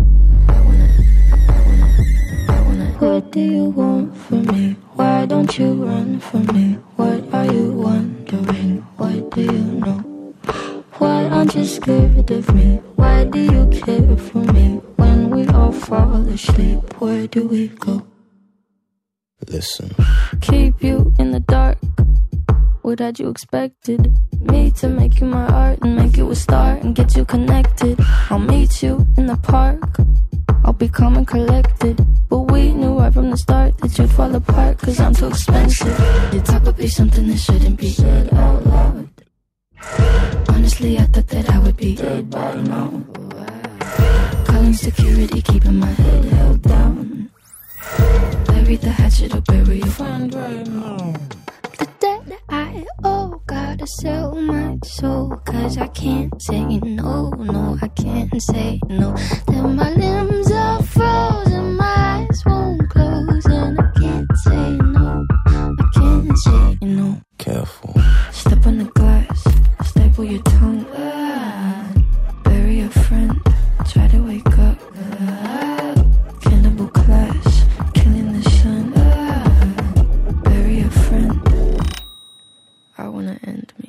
I wanna. What do you want from me? Why don't you run from me? What are you wondering? What do you know? Why aren't you scared of me? Why do you care for me? When we all fall asleep, where do we go? Listen. Keep you in the dark. What had you expected? Me to make you my art and make you a star and get you connected. I'll meet you in the park. I'll be calm and collected. But we knew right from the start that you'd fall apart, cause I'm too expensive. Your talk would be something that shouldn't be said out loud. Honestly, I thought that I would be dead by now. Calling security, keeping my head held down. Bury the hatchet or bury your friend right now. The debt I owe, gotta sell my soul, cause I can't say no, no, I can't say no. Then my limbs are frozen, my eyes won't close, and I can't say no, I can't say no. Careful. Step on the glass, staple your tongue. Bury a friend, try to wake up. Cannibal class, killing the sun. Bury a friend, I wanna end me.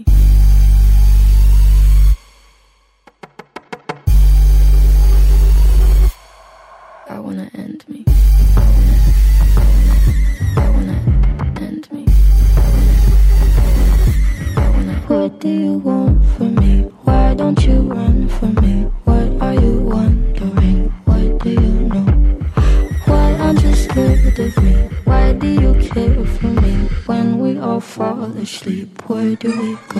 I wanna end me. I wanna end me. What do you want from me? Why don't you run from me? What are you wondering? What do you know? Why aren't you scared of me? Why do you care for me? When we all fall asleep, where do we go?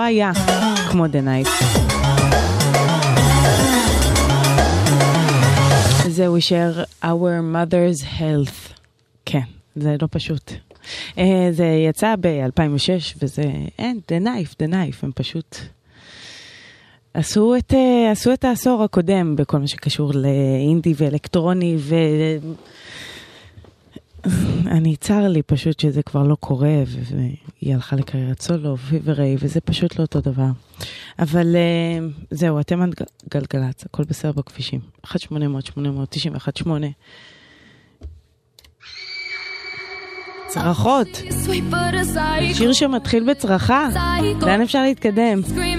היה כמו The Knife. זהו יישאר Our Mother's Health. כן, זה לא פשוט. זה יצא ב-2006 וזה, The Knife, הם פשוט עשו את העשור הקודם בכל מה שקשור לאינדי ואלקטרוני אני צר לי פשוט שזה כבר לא קורה והיא הלכה לקריירת סולו וראי וזה פשוט לא אותו דבר. אבל זהו, אתם גלגלצ, הכל בסדר בכבישים. 1-800-891-8 צרחות. שיר שמתחיל בצרחה. לאן אפשר להתקדם?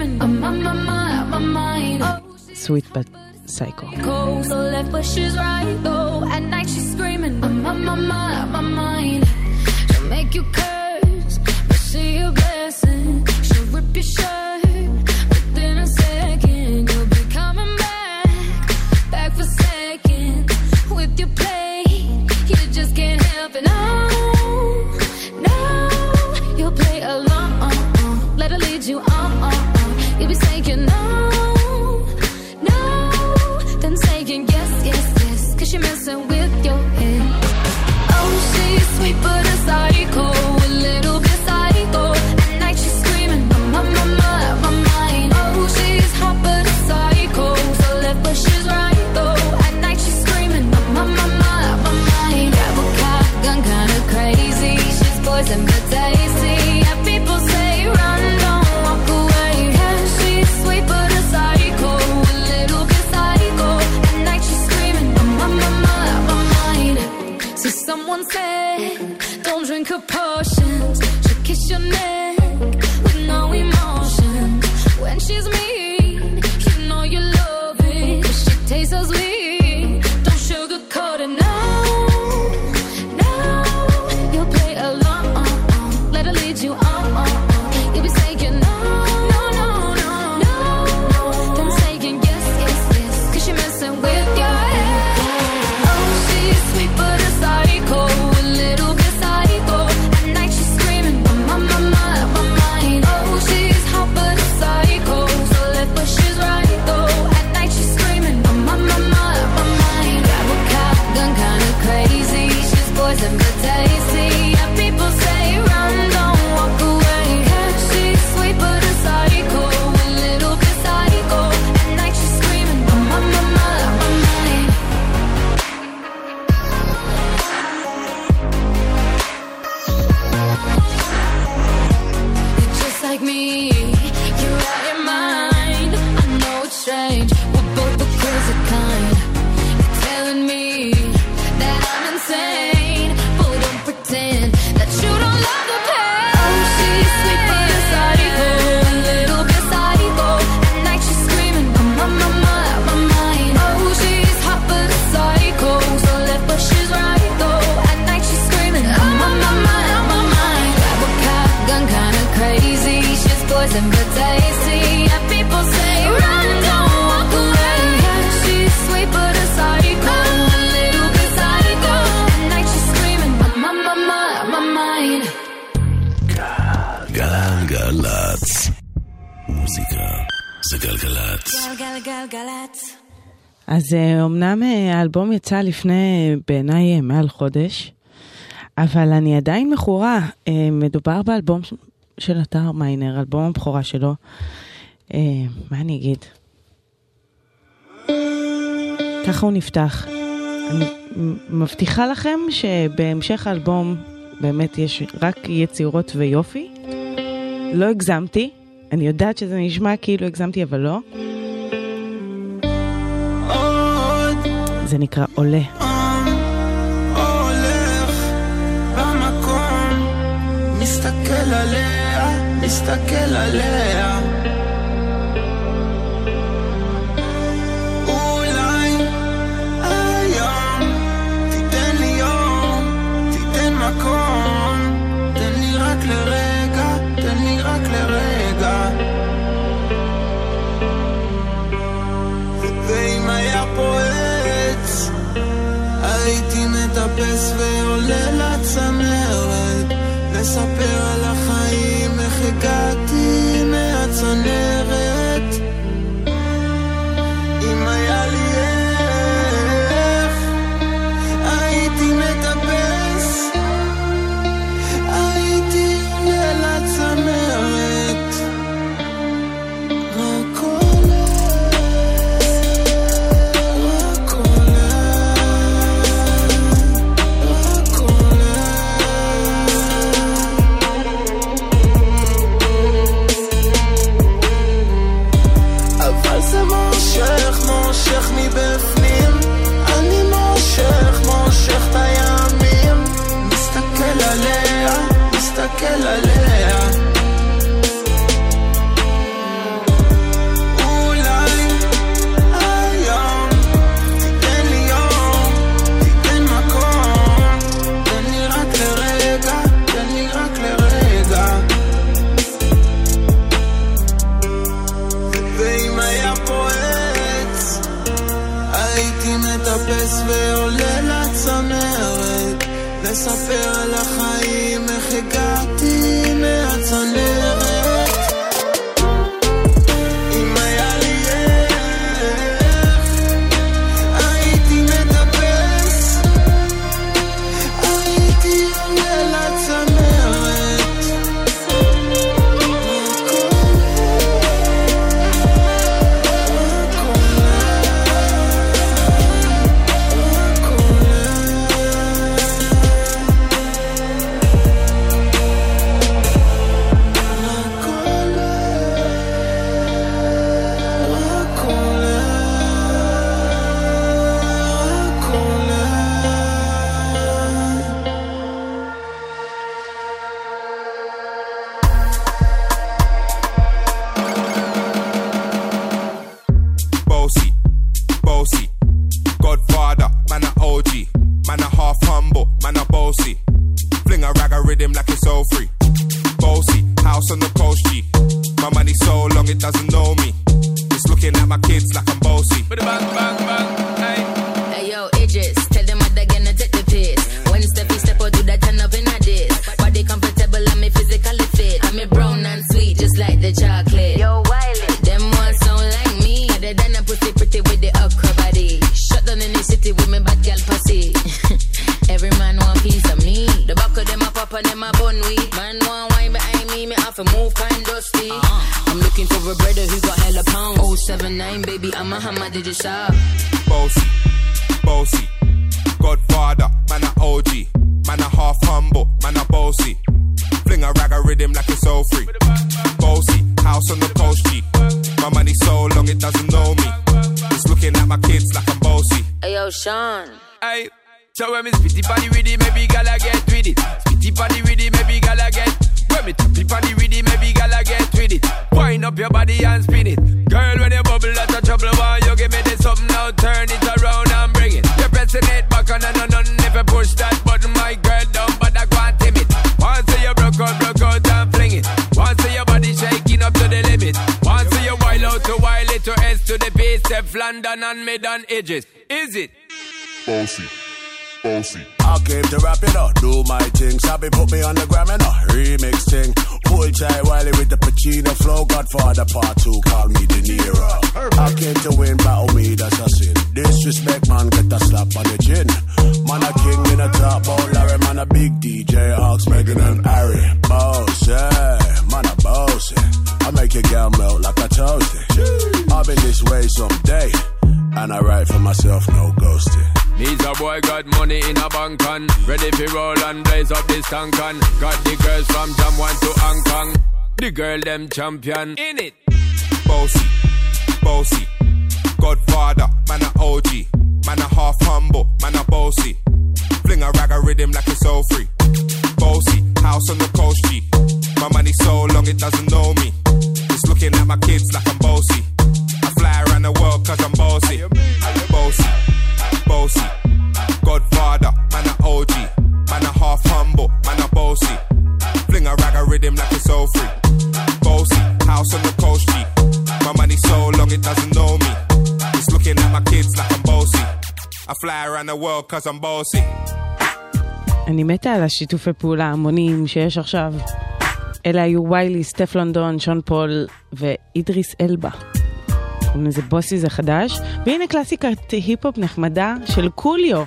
Sweet but Psycho. So left but she's right though. At night she's screaming, my mind. She'll make you curse, but see a blessing. She'll rip your shirt within a second. You'll be coming back for seconds. With your play, you just can't help it. No, you'll play along. Let her lead you on. You'll be saying no. Saying yes, cause you're messing with your head. Oh, she's sweet but a psycho, a little bit psycho. At night she's screaming, my mind. Oh, she's hot but a psycho, so left but she's right though. At night she's screaming, my mind. Grab a cop, gun kinda crazy. She's poison but tasty. And people say run, don't walk away. Yeah, she's sweet but a psycho, a little bit psycho. See, someone said, don't drink her potions. She'll kiss your neck with no emotion. When she's mean, you know you love it. 'Cause she tastes so sweet. Don't sugarcoat it, no. You'll play along. Let her lead you on. You'll be saying no. Then saying yes. 'Cause you're messing with your head. Oh, she's sweet but a psycho, a little bit psycho. At night she's screaming, my mind. Oh, she's hot but a psycho, so left but she's right though. At night she's screaming, my mind. Grab a cop, gun kinda crazy. She's poison but tasty. And people say run, don't walk away. Yeah, she's sweet but a psycho, a little bit psycho. At night she's screaming, my mind. Just like me, you're out your mind. I know it's strange, we're both the crazy kind. You're telling me that I'm insane, but don't pretend that you don't love the pain. Oh, she's sweet but a psycho, a little bit psycho. At night she's screaming, my mind. Oh, she's hot but a psycho, so left but she's right though. At night she's screaming, my mind. Grab a cop, gun kinda crazy. She's poison but tasty. And people say run, don't walk away. Yeah, she's sweet but a psycho, a little bit psycho. At night she's screaming, my mind. גלגלצ. מוזיקה זה גלגלצ. גלגלצ. אז אמנם האלבום יצא לפני בעיניי מעל חודש, אבל אני עדיין מכורה. מדובר באלבום של אתר מיינר, אלבום הבכורה שלו. מה אני אגיד? ככה הוא נפתח. אני מבטיחה לכם שבהמשך האלבום באמת יש רק יצירות ויופי. לא הגזמתי. אני יודעת שזה נשמע כאילו הגזמתי, אבל לא. זה נקרא עולה. הולך במקום, מסתכל עליה. אולי היום תיתן לי יום, תיתן מקום, תן לי רק לרגע. ואם היה פה עץ, הייתי מטפס ועולה לצמרת, לספר על החיים, איך הגעתי מהצמרת. מטפס ועולה לצמרת לספר על החיים איך הגעתי מהצנרת אם היה לי איך הייתי מטפס הייתי עולה לצמרת So when me spitty body with it, maybe gala get with it. Spitty body with it, maybe gala get. When me tappy body with it, maybe gala get with it. Wind up your body and spin it. Girl, when you bubble, that's a trouble. Why you give me this something now? Turn it around and bring it. You're pressing it back on and on. If you push that button, my girl, down, but I can't tame it. Once you broke out and fling it. Once your body shaking up to the limit. Once you wild out to wild it to S to the base, Steph London and mid on edges. Is it? Bossy. I came to rap it up, do my thing. Sabi put me on the gram and a remix thing. Pull tight Wiley with the Pacino flow. Godfather part 2, call me De Niro. I came to win, battle me, that's a sin. Disrespect, man, get a slap on the chin. Man a king in a top bowl, Larry, man a big DJ, Ox, Megan and Harry. Boss, yeah, man a boss, yeah. I make your girl melt like a toasty. I'll be this way someday, and I write for myself, no ghosting. Needs a boy got money in a bank on. Ready for roll and blaze up this tank on. Got the girls from Jamwan to Hong Kong. The girl them champion. In it. Bossy. Godfather, man a OG. Man a half humble, man a bossy. Fling a rag a rhythm like it's all free. Bossy, house on the coast G. My money so long it doesn't know me. It's looking at my kids like I'm bossy. I fly around the world cause I'm bossy. Bossy, Godfather, man a OG. Man a half humble, man a bossy. Fling a rag a rhythm like it's all free. Bossy, house on the coast G. My money so long it doesn't know me. It's looking at my kids like I'm bossy. I fly around the world cause I'm bossy. אני מתה על השיתופי פעולה המונים שיש עכשיו. אלה היו ויילי, סטף לונדון, שון פול ואידריס אלבה. זה בוסי זה חדש, והנה קלאסיקת היפ-הופ נחמדה של קוליו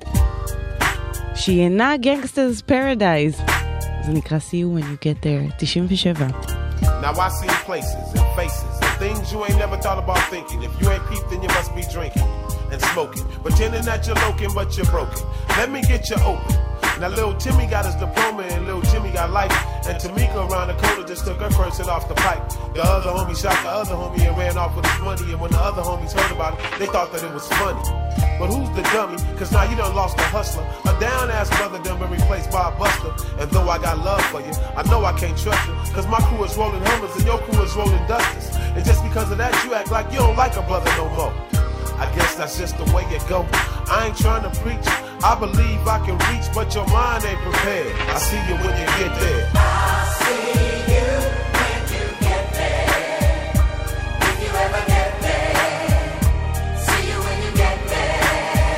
שהיא אינה גנגסטרס פרדייז, זה נקרא See You When You Get There. 97. Now I see places and faces and things you ain't never thought about thinking. If you ain't peeped then you must be drinking and smoking, pretending that you're loking but you're broken. Let me get you open. Now little Timmy got his diploma and little Jimmy got life. And Tamika around the corner just took her first hit off the pipe. The other homie shot the other homie and ran off with his money. And when the other homies heard about it, they thought that it was funny. But who's the dummy? Cause now you done lost a hustler. A down-ass brother done been replaced by a buster. And though I got love for you, I know I can't trust you. Cause my crew is rolling Hummers and your crew is rolling Dusters. And just because of that, you act like you don't like a brother no more. I guess that's just the way it go. I ain't trying to preach. I believe I can reach, but your mind ain't prepared. I see you when you get there. I see you when you get there. If you ever get there. See you when you get there.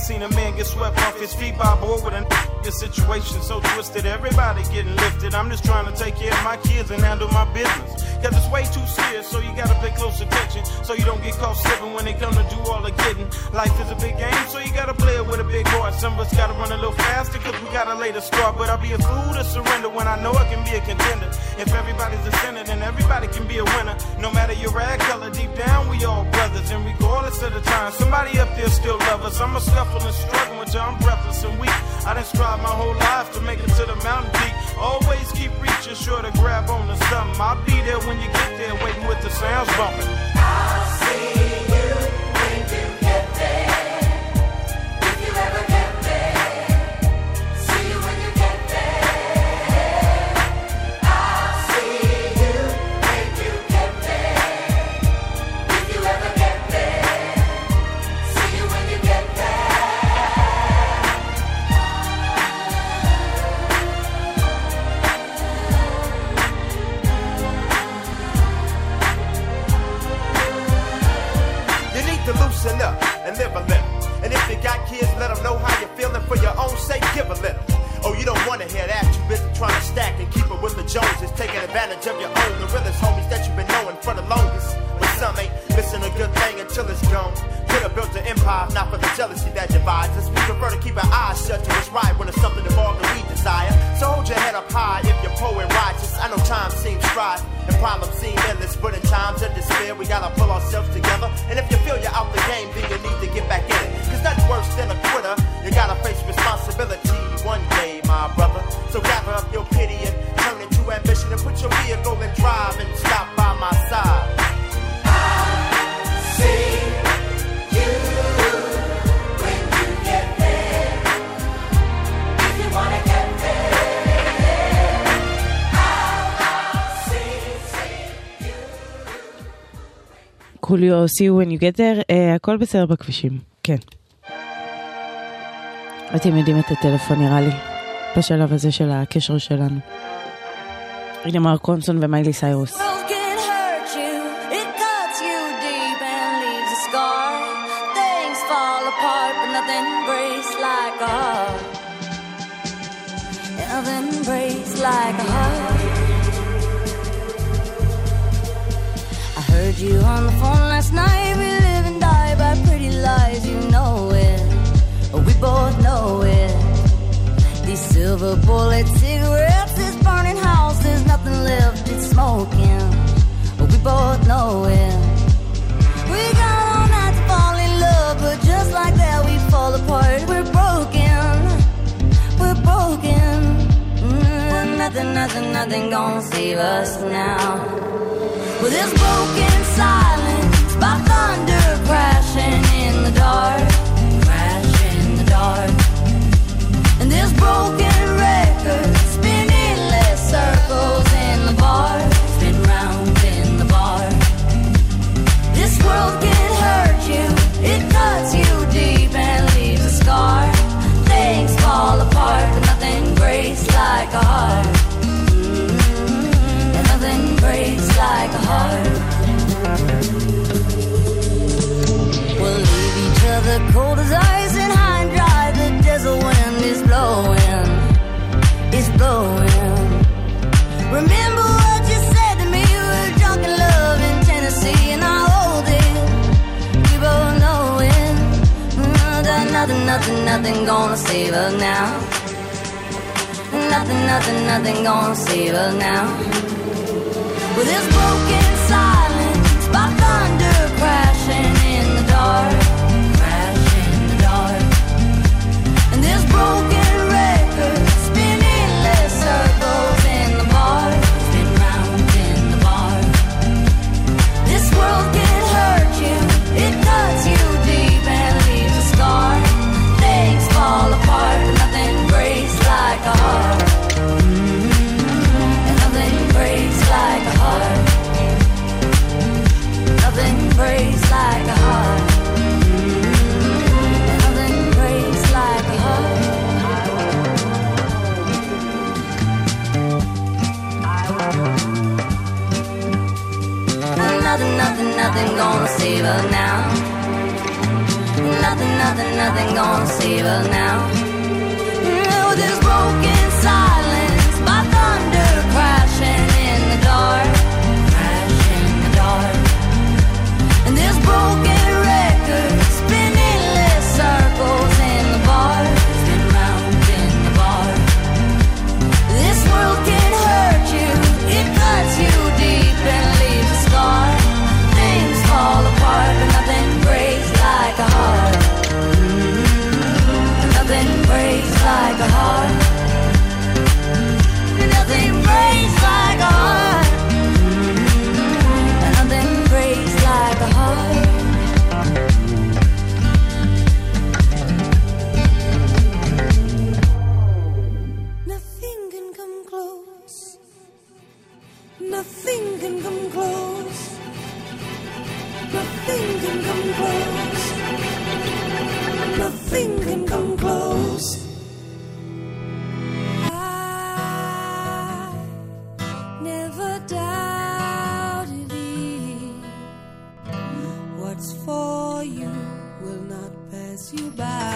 seen a man get swept off his feet by a boy with a this situation so twisted, everybody getting lifted. I'm just trying to take care of my kids and handle my business. Cause it's way too serious, so you gotta pay close attention, so you don't get caught slipping when they come to do all the getting. Life is a big game, so you gotta play it with a big heart. Some of us gotta run a little faster, cause we gotta lay the start. But I'll be a fool to surrender when I know I can be a contender. If everybody's a sinner, then everybody can be a winner. No matter your rag color, deep down we all brothers. And regardless of the time, somebody up there still love us. I'm a scuffle and struggling with you, I'm breathless and weak. I done strive my whole life to make it to the mountain peak. Always keep reaching, sure to grab on to something. I'll be there when you get there, waiting with the sounds bumping. I'll see you when you get there. If you ever get there, see you when you get there. I'll see you when you get there. If you ever get there, see you when you get there. To loosen up and live a little. And if you got kids, let them know how you're feeling. For your own sake, give a little. Oh, you don't want to hear that. You busy trying to stack and keep it with the Joneses, taking advantage of your own, the realest homies that you've been knowing for the longest. But some ain't missing a good thing until it's gone. Could have built an empire, not for the jealousy that divides us. We prefer to keep our eyes shut to what's right when it's something involved that we desire. So hold your head up high if you're poor and righteous. I know time seems strife and problems seem endless, but in times of despair, we gotta pull ourselves together. And if you feel you're out the game, then you need to get back in it. Cause nothing worse than a quitter. You gotta face responsibility one day, my brother. So gather up your pity and turn it to ambition and put your vehicle in drive and stop by my side. I'll see you when you get there. If you wanna get there, I'll see you. קוליו, see you when you get there, הכל בסדר בכבישים, כן. אתם יודעים את הטלפון נראה לי, בשלב הזה של הקשר שלנו. הנה מרק רונסון ומיילי סיירוס. Nothing breaks like a heart. I heard you on the phone last night. We live and die by pretty lies. You know it, we both know it. These silver bullet cigarettes, this burning house, there's nothing left, it's smoking. We both know it. We got all night to fall in love, but just like that we fall apart. We're broken, we're broken. Nothing gonna save us now. With this broken silence, by thunder crashing in the dark, crashing in the dark. And this broken record spinning less circles in the bar, spin round in the bar. This world can hurt you, it cuts you deep and leaves a scar. Things fall apart, but nothing breaks like a heart. And nothing breaks like a heart. We'll leave each other cold as ice and high and dry. The desert wind is blowing, it's blowing. Remember what you said to me, we were drunk in love in Tennessee, and I hold it, we both know it. That nothing gonna save us now. Nothing gonna save us now. With this broken silence, by thunder crashing in the dark, crashing in the dark. And this broken record spinning less circles in the bar, spin round in the bar. This world can hurt you, it cuts you deep and leaves a scar. Things fall apart, but nothing breaks like a heart. And nothing breaks like a heart. Nothing breaks like a heart. And nothing breaks like a heart. And nothing gonna save us now. nothing gonna save us now. With this broken silence, my thunder crashing in the dark, and this broken record spinning endless circles in the bar, spin round in the bar. This world can hurt you, it cuts you deep and leaves a scar. Things fall apart, but nothing breaks like a heart. Nothing breaks like a heart. Nothing breaks like a heart. Nothing breaks like a heart. Nothing can come close. Nothing can come close. Nothing can come close. Nothing can come close. I never doubted thee. What's for you will not pass you by.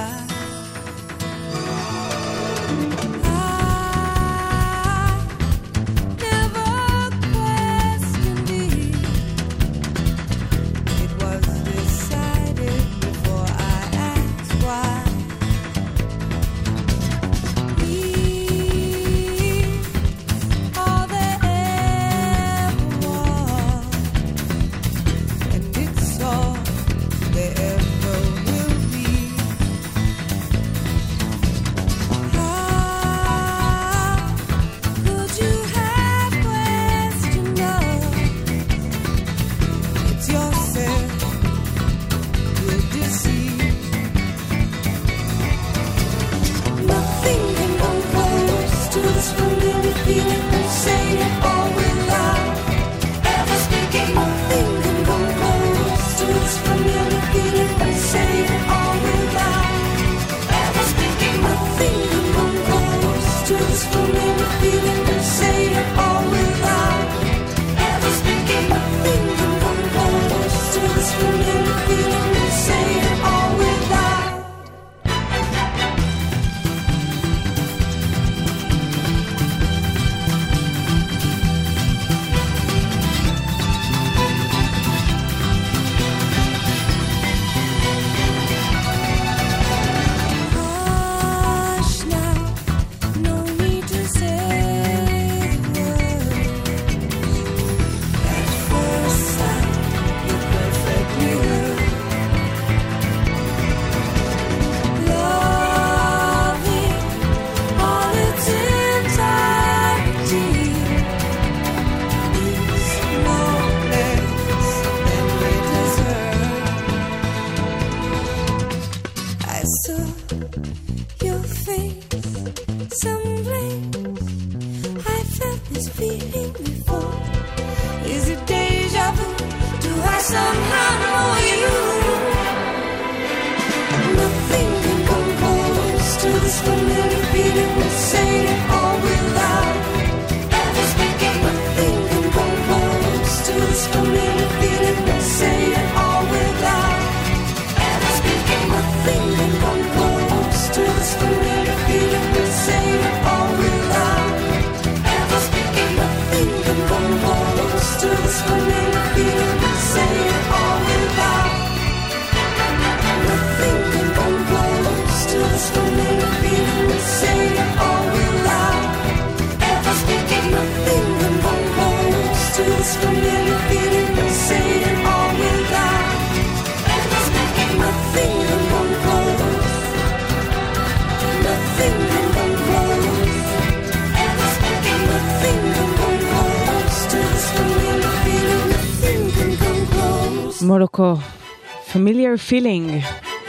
מולוקו, Familiar Feeling,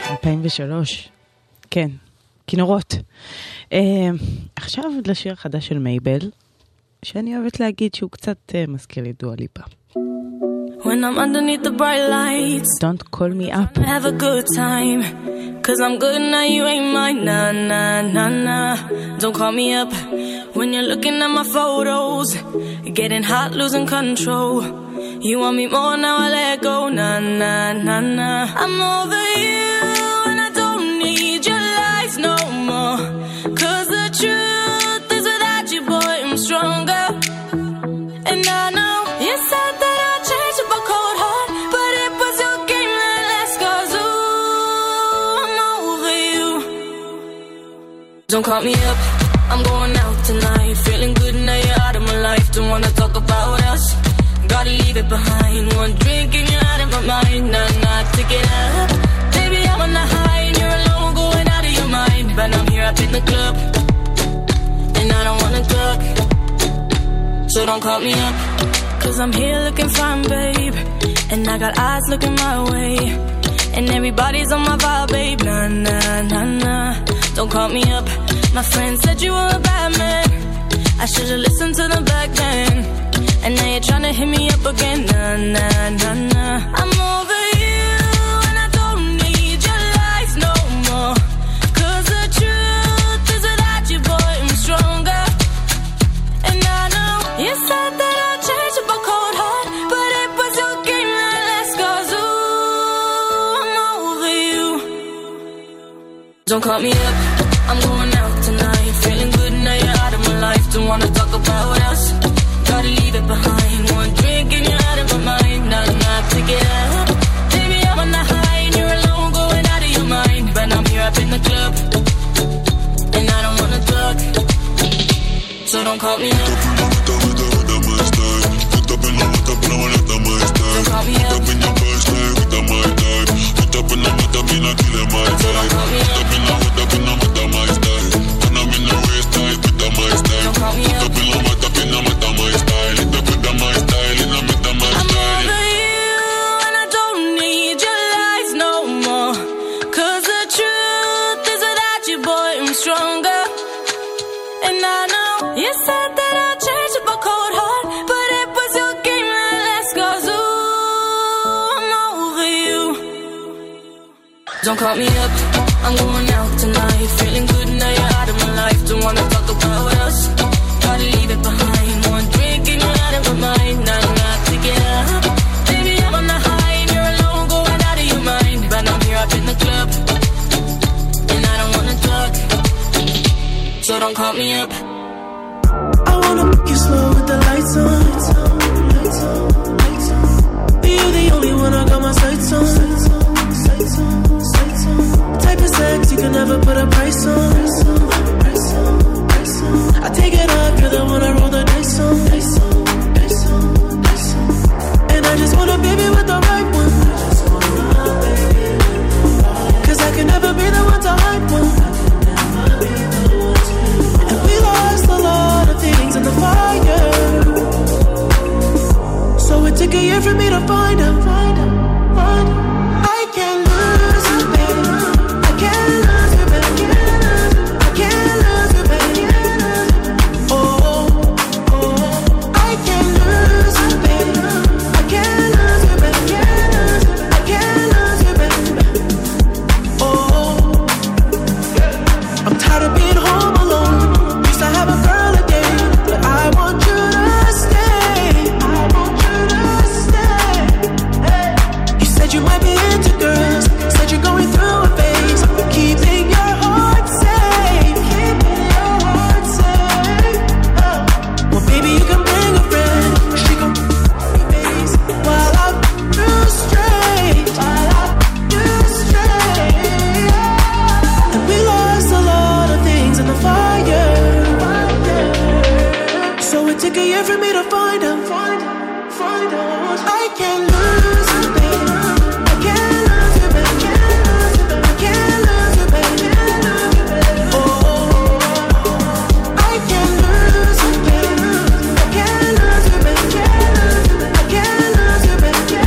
2003. כן, כינורות. עכשיו לשיר חדש של מייבל, שאני אוהבת להגיד שהוא קצת מזכיר לי דואה ליפה. When I'm underneath the bright lights, Don't call me up. have a good time, 'cause I'm good now, you ain't mine. Nah, nah, nah, nah. Don't call me up when you're looking at my photos, getting hot, losing control. You want me more, now I let go. Nah, nah, nah, nah. I'm over you and I Don't call me up, I'm going out tonight. Feeling good now you're out of my life. Don't wanna talk about us, gotta leave it behind. One drink and you're out of my mind. Nah, take it up. Baby, I'm on the high and you're alone, going out of your mind. But I'm here up in the club, and I don't wanna talk. So don't call me up, cause I'm here looking fine, babe. And I got eyes looking my way, and everybody's on my vibe, babe. Nah. Don't call me up. My friend said you were a bad man. I should've listened to them back then. And now you're trying to hit me up again. Nah. I'm over you, and I don't need your lies no more. Cause the truth is without you, boy, I'm stronger. And I know you said that I'd change up a cold heart, but it was your game that last. Cause ooh, I'm over you. Don't call me up, I'm going out tonight. Feeling good now you're out of my life. Don't wanna talk about us, gotta leave it behind. One drink and you're out of my mind. Nah, take it up. Baby, I'm on the high and you're alone, going out of your mind. But I'm here up in the club, and I don't wanna talk. So don't call me up. Don't call me up, I'm going out tonight. Feeling good now you're out of my life. Don't wanna talk about us, gotta leave it behind. One drink and you're out of my mind. Nah, take it up. Baby, I'm on the high and you're alone, going out of your mind. But I'm here up in the club, and I don't wanna talk. So don't call me up. I wanna make you slow with the lights on. You're the only one I got my sights on. Type of sex you can never put a price on. I take it up, you're the one I roll the dice on. And I just want a baby with the right one. Cause I can never be the one to hype one. And we lost a lot of things in the fire. So it took a year for me to find out. I can't lose you, baby. I can't lose you, baby. I can't lose you, baby. Oh, I can't lose you, baby. I can't lose you, baby. I can't lose you, baby. Oh, I'm tired of being home alone. Used to have a girl a day, but I want you to stay. I want you to stay. Hey. You said you might be into girls. Said you're going through a phase. Keeping your heart safe. Keeping your heart safe. Oh. Well, baby, you can bring a friend. She can face while I'm too straight. While I'm too straight. And we lost a lot of things in the fire. So it took a year for me to find out. I can't lose you, baby. I can't lose you, baby. I can't lose you, baby. Oh, I can't lose you, baby. I can't lose you, baby. I can't lose you, baby.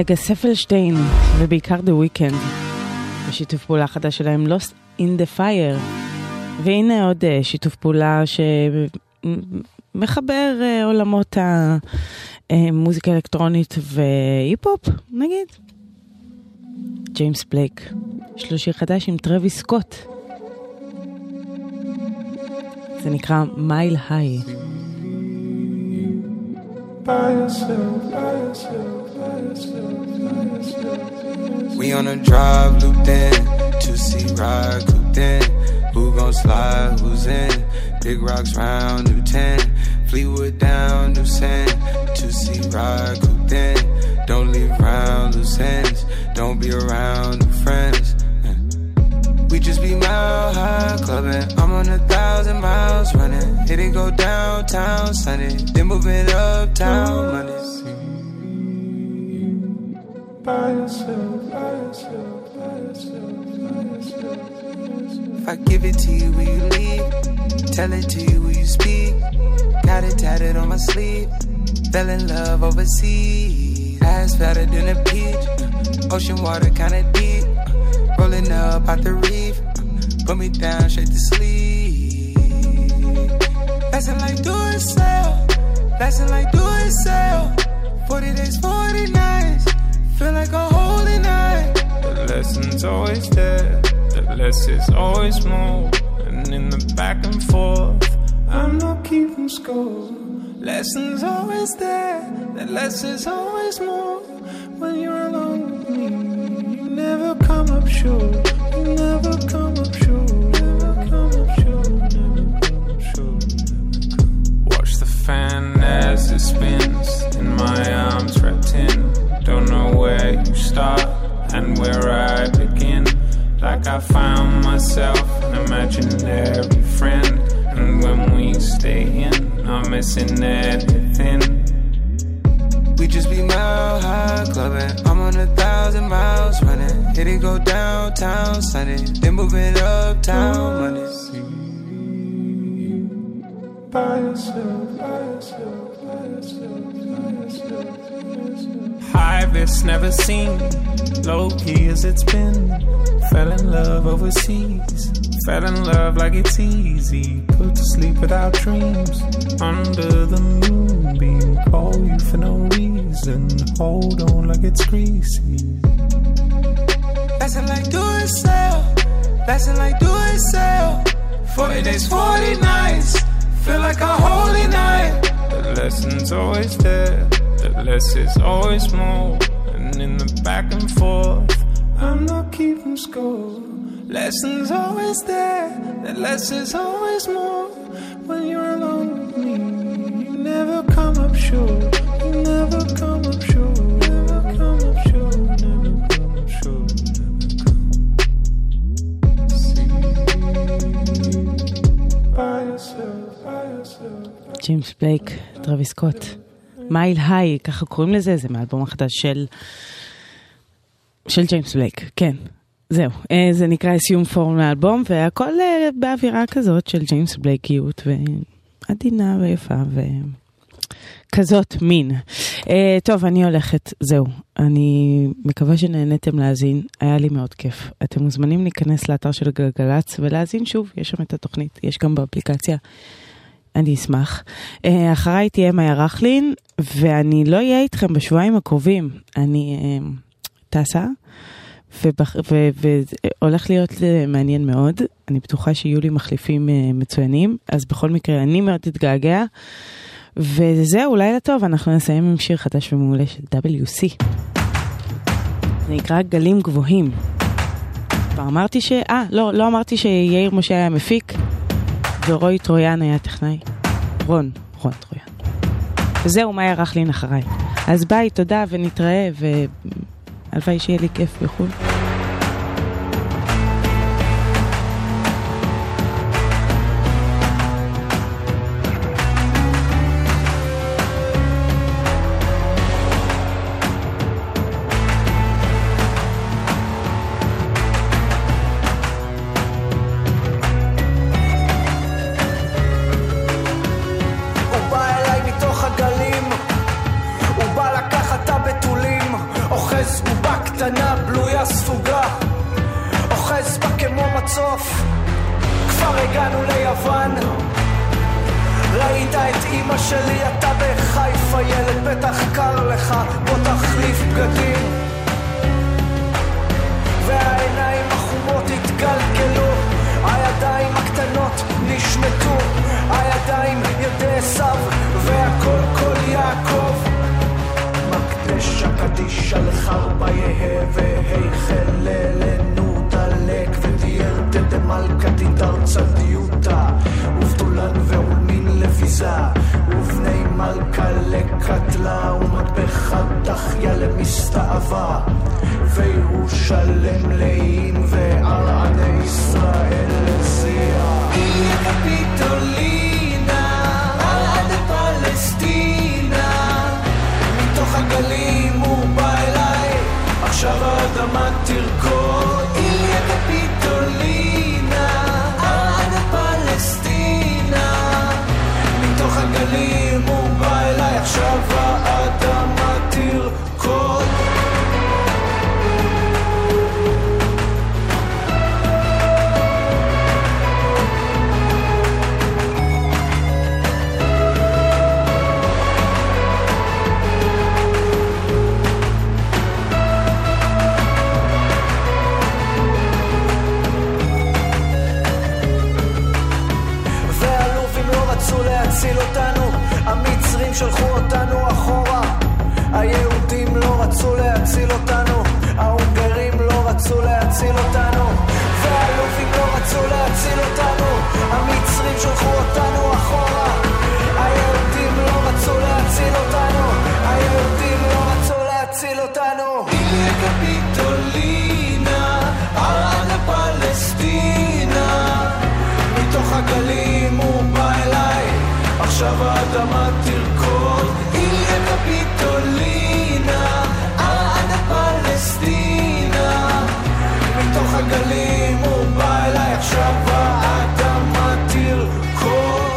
ארגס ספלשטיין ובעיקר The Weeknd בשיתוף פעולה חדש שלהם Lost in the Fire. והנה עוד שיתוף פעולה שמחבר עולמות המוזיקה אלקטרונית והיפ-הופ נגיד. ג'יימס בלייק, יש לו שיר חדש עם טרוויס סקוט, זה נקרא Mile High. We on a drive, looped in, 2C ride, cooped in. Who gon' slide, who's in? Big rocks round, new 10. Fleetwood down, new sand. 2C ride, cooped in. Don't leave round loose ends. Don't be around new friends. We just be mile high clubbing. I'm on 1,000 miles running. Hit it, go downtown Sunday. Then move it uptown Monday. By yourself, by yourself, by yourself, by yourself. If I give it to you, will you leave? Tell it to you, will you speak? Got it tatted on my sleeve. Fell in love overseas. Ass fatter than a peach. Ocean water kinda deep. Rolling up out the reef. Put me down straight to sleep. Lesson like do it sell. Lesson like do it sell. 40 days, 40 nights. Feel like a holy night. The lesson's always there. The less is always more. And in the back and forth, I'm not keeping score. Lesson's always there. The less is always more. When you're alone with me, you never come up short. You never come up short. Never come up short. Never come up short. Watch the fan as it spins. In my arms wrapped in. Don't know where you start and where I begin. Like I found myself an imaginary friend. And when we stay in, I'm missing everything. We just be mile high clubbing. I'm on 1,000 miles running. Hit it, go downtown Sunday. Then move it uptown Monday. By yourself, by yourself, by yourself, by yourself. High risk never seen, low key as it's been. Fell in love overseas, fell in love like it's easy. Put to sleep without dreams, under the moonbeam. Call you for no reason, hold on like it's greasy. Lesson like do it sell, lesson like do it sell. 40 days, 40 nights, feel like a holy night. The lesson's always there. The less is always more. And in the back and forth, I'm not keeping score. Lessons always there. The less is always more. When you're alone with me, you never come up short. You never come up short. Never come up short. Never come up short. See, by yourself, by yourself. ג'יימס בלייק, טרוויס סקוט. מייל היי, ככה קוראים לזה, זה מאלבום החדש של ג'יימס בלייק, כן, זהו, זה נקרא סיום פורם לאלבום, והכל באווירה כזאת של ג'יימס בלייקיות, ועדינה ויפה, וכזאת מין. טוב, אני הולכת, זהו, אני מקווה שנהנתם להאזין, היה לי מאוד כיף. אתם מוזמנים להיכנס לאתר של גלגלץ, ולהאזין שוב, יש שם את התוכנית, יש גם באפליקציה, אני אשמח. אחריי תהיה מאיה רכלין, ואני לא אהיה איתכם בשבועיים הקרובים. אני טסה, והולך להיות מעניין מאוד. אני בטוחה שיהיו לי מחליפים מצוינים, אז בכל מקרה אני מאוד אתגעגע. וזהו, לילה טוב, אנחנו נסיים עם שיר חדש ומעולה של WC. זה נקרא גלים גבוהים. כבר אמרתי לא אמרתי שיאיר משה היה מפיק, ורוי טרויאן היה טכנאי. רון טרויאן. וזהו, מאיה רכלין אחריי. אז ביי, תודה ונתראה, והלוואי שיהיה לי כיף בחול. אוחז הספוגה, אוחז בה כמו מצוף. כבר הגענו ליוון, ראית את אמא שלי, אתה בחיפה ילד, בטח קר לך, בוא תחליף בגדים. והעיניים החומות התגלגלו, הידיים הקטנות נשמטו, הידיים ידי עשיו, והכל כל יעקב. מקדש הקדיש על חרבה יהה, והיכל ללנו דלק, ותיאר דמלכה תידר צדיותה, ובדולן ועולמין לביזה, ובני מלכה לקטלה, ומטבחת דחיה למסתאבה, וירושלם לאים, וערעני ישראל לזיע. איליה קפיטולינה, עד פלסטינה, מתוך הגלים הוא בא אליי, עכשיו האדמה תרקוד. איליה קפיטולינה, עד פלסטינה, מתוך הגלים הוא בא אליי, עכשיו האדמה תרקוד. להציל אותנו, המצרים שלחו אותנו אחורה, היהודים לא רצו להציל אותנו, ההונגרים לא רצו להציל אותנו, והלובים לא רצו להציל אותנו, המצרים שלחו אותנו אחורה, היהודים לא רצו להציל אותנו, היהודים לא רצו להציל אותנו. איליה קפיטולינה, ערד פלסטינה, מתוך הגלים הוא בא אליי, עכשיו האדמה תרקוד. איליה קפיטולינה, עד פלסטינה, מתוך הגלים הוא בא אליי, עכשיו האדמה תרקוד.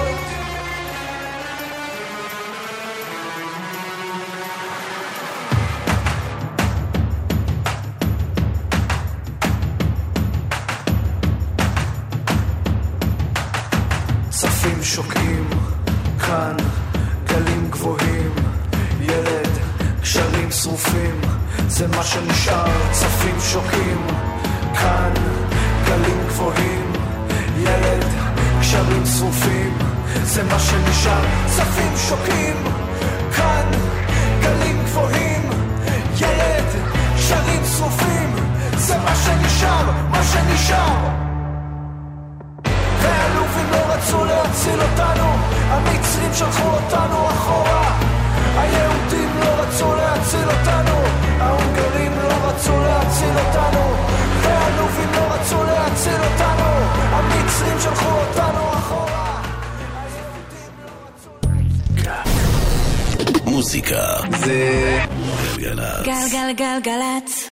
צפים שוקעים כאן, גלים גבוהים, ילד, קשרים שרופים, זה מה שנשאר. צפים שוקעים כאן, גלים גבוהים, ילד, קשרים שרופים, זה מה שנשאר. צפים שוקעים כאן, גלים גבוהים, ילד, קשרים שרופים, זה מה שנשאר, מה שנשאר. והאלופים לא רצו להציל אותנו, המצרים שלחו אותנו אחורה, היהודים לא רצו להציל אותנו, ההונגרים לא רצו להציל אותנו, והאלופים לא רצו להציל אותנו, המצרים שלחו אותנו אחורה. מוזיקה זה גלגלצ. גלגלגלגלצ.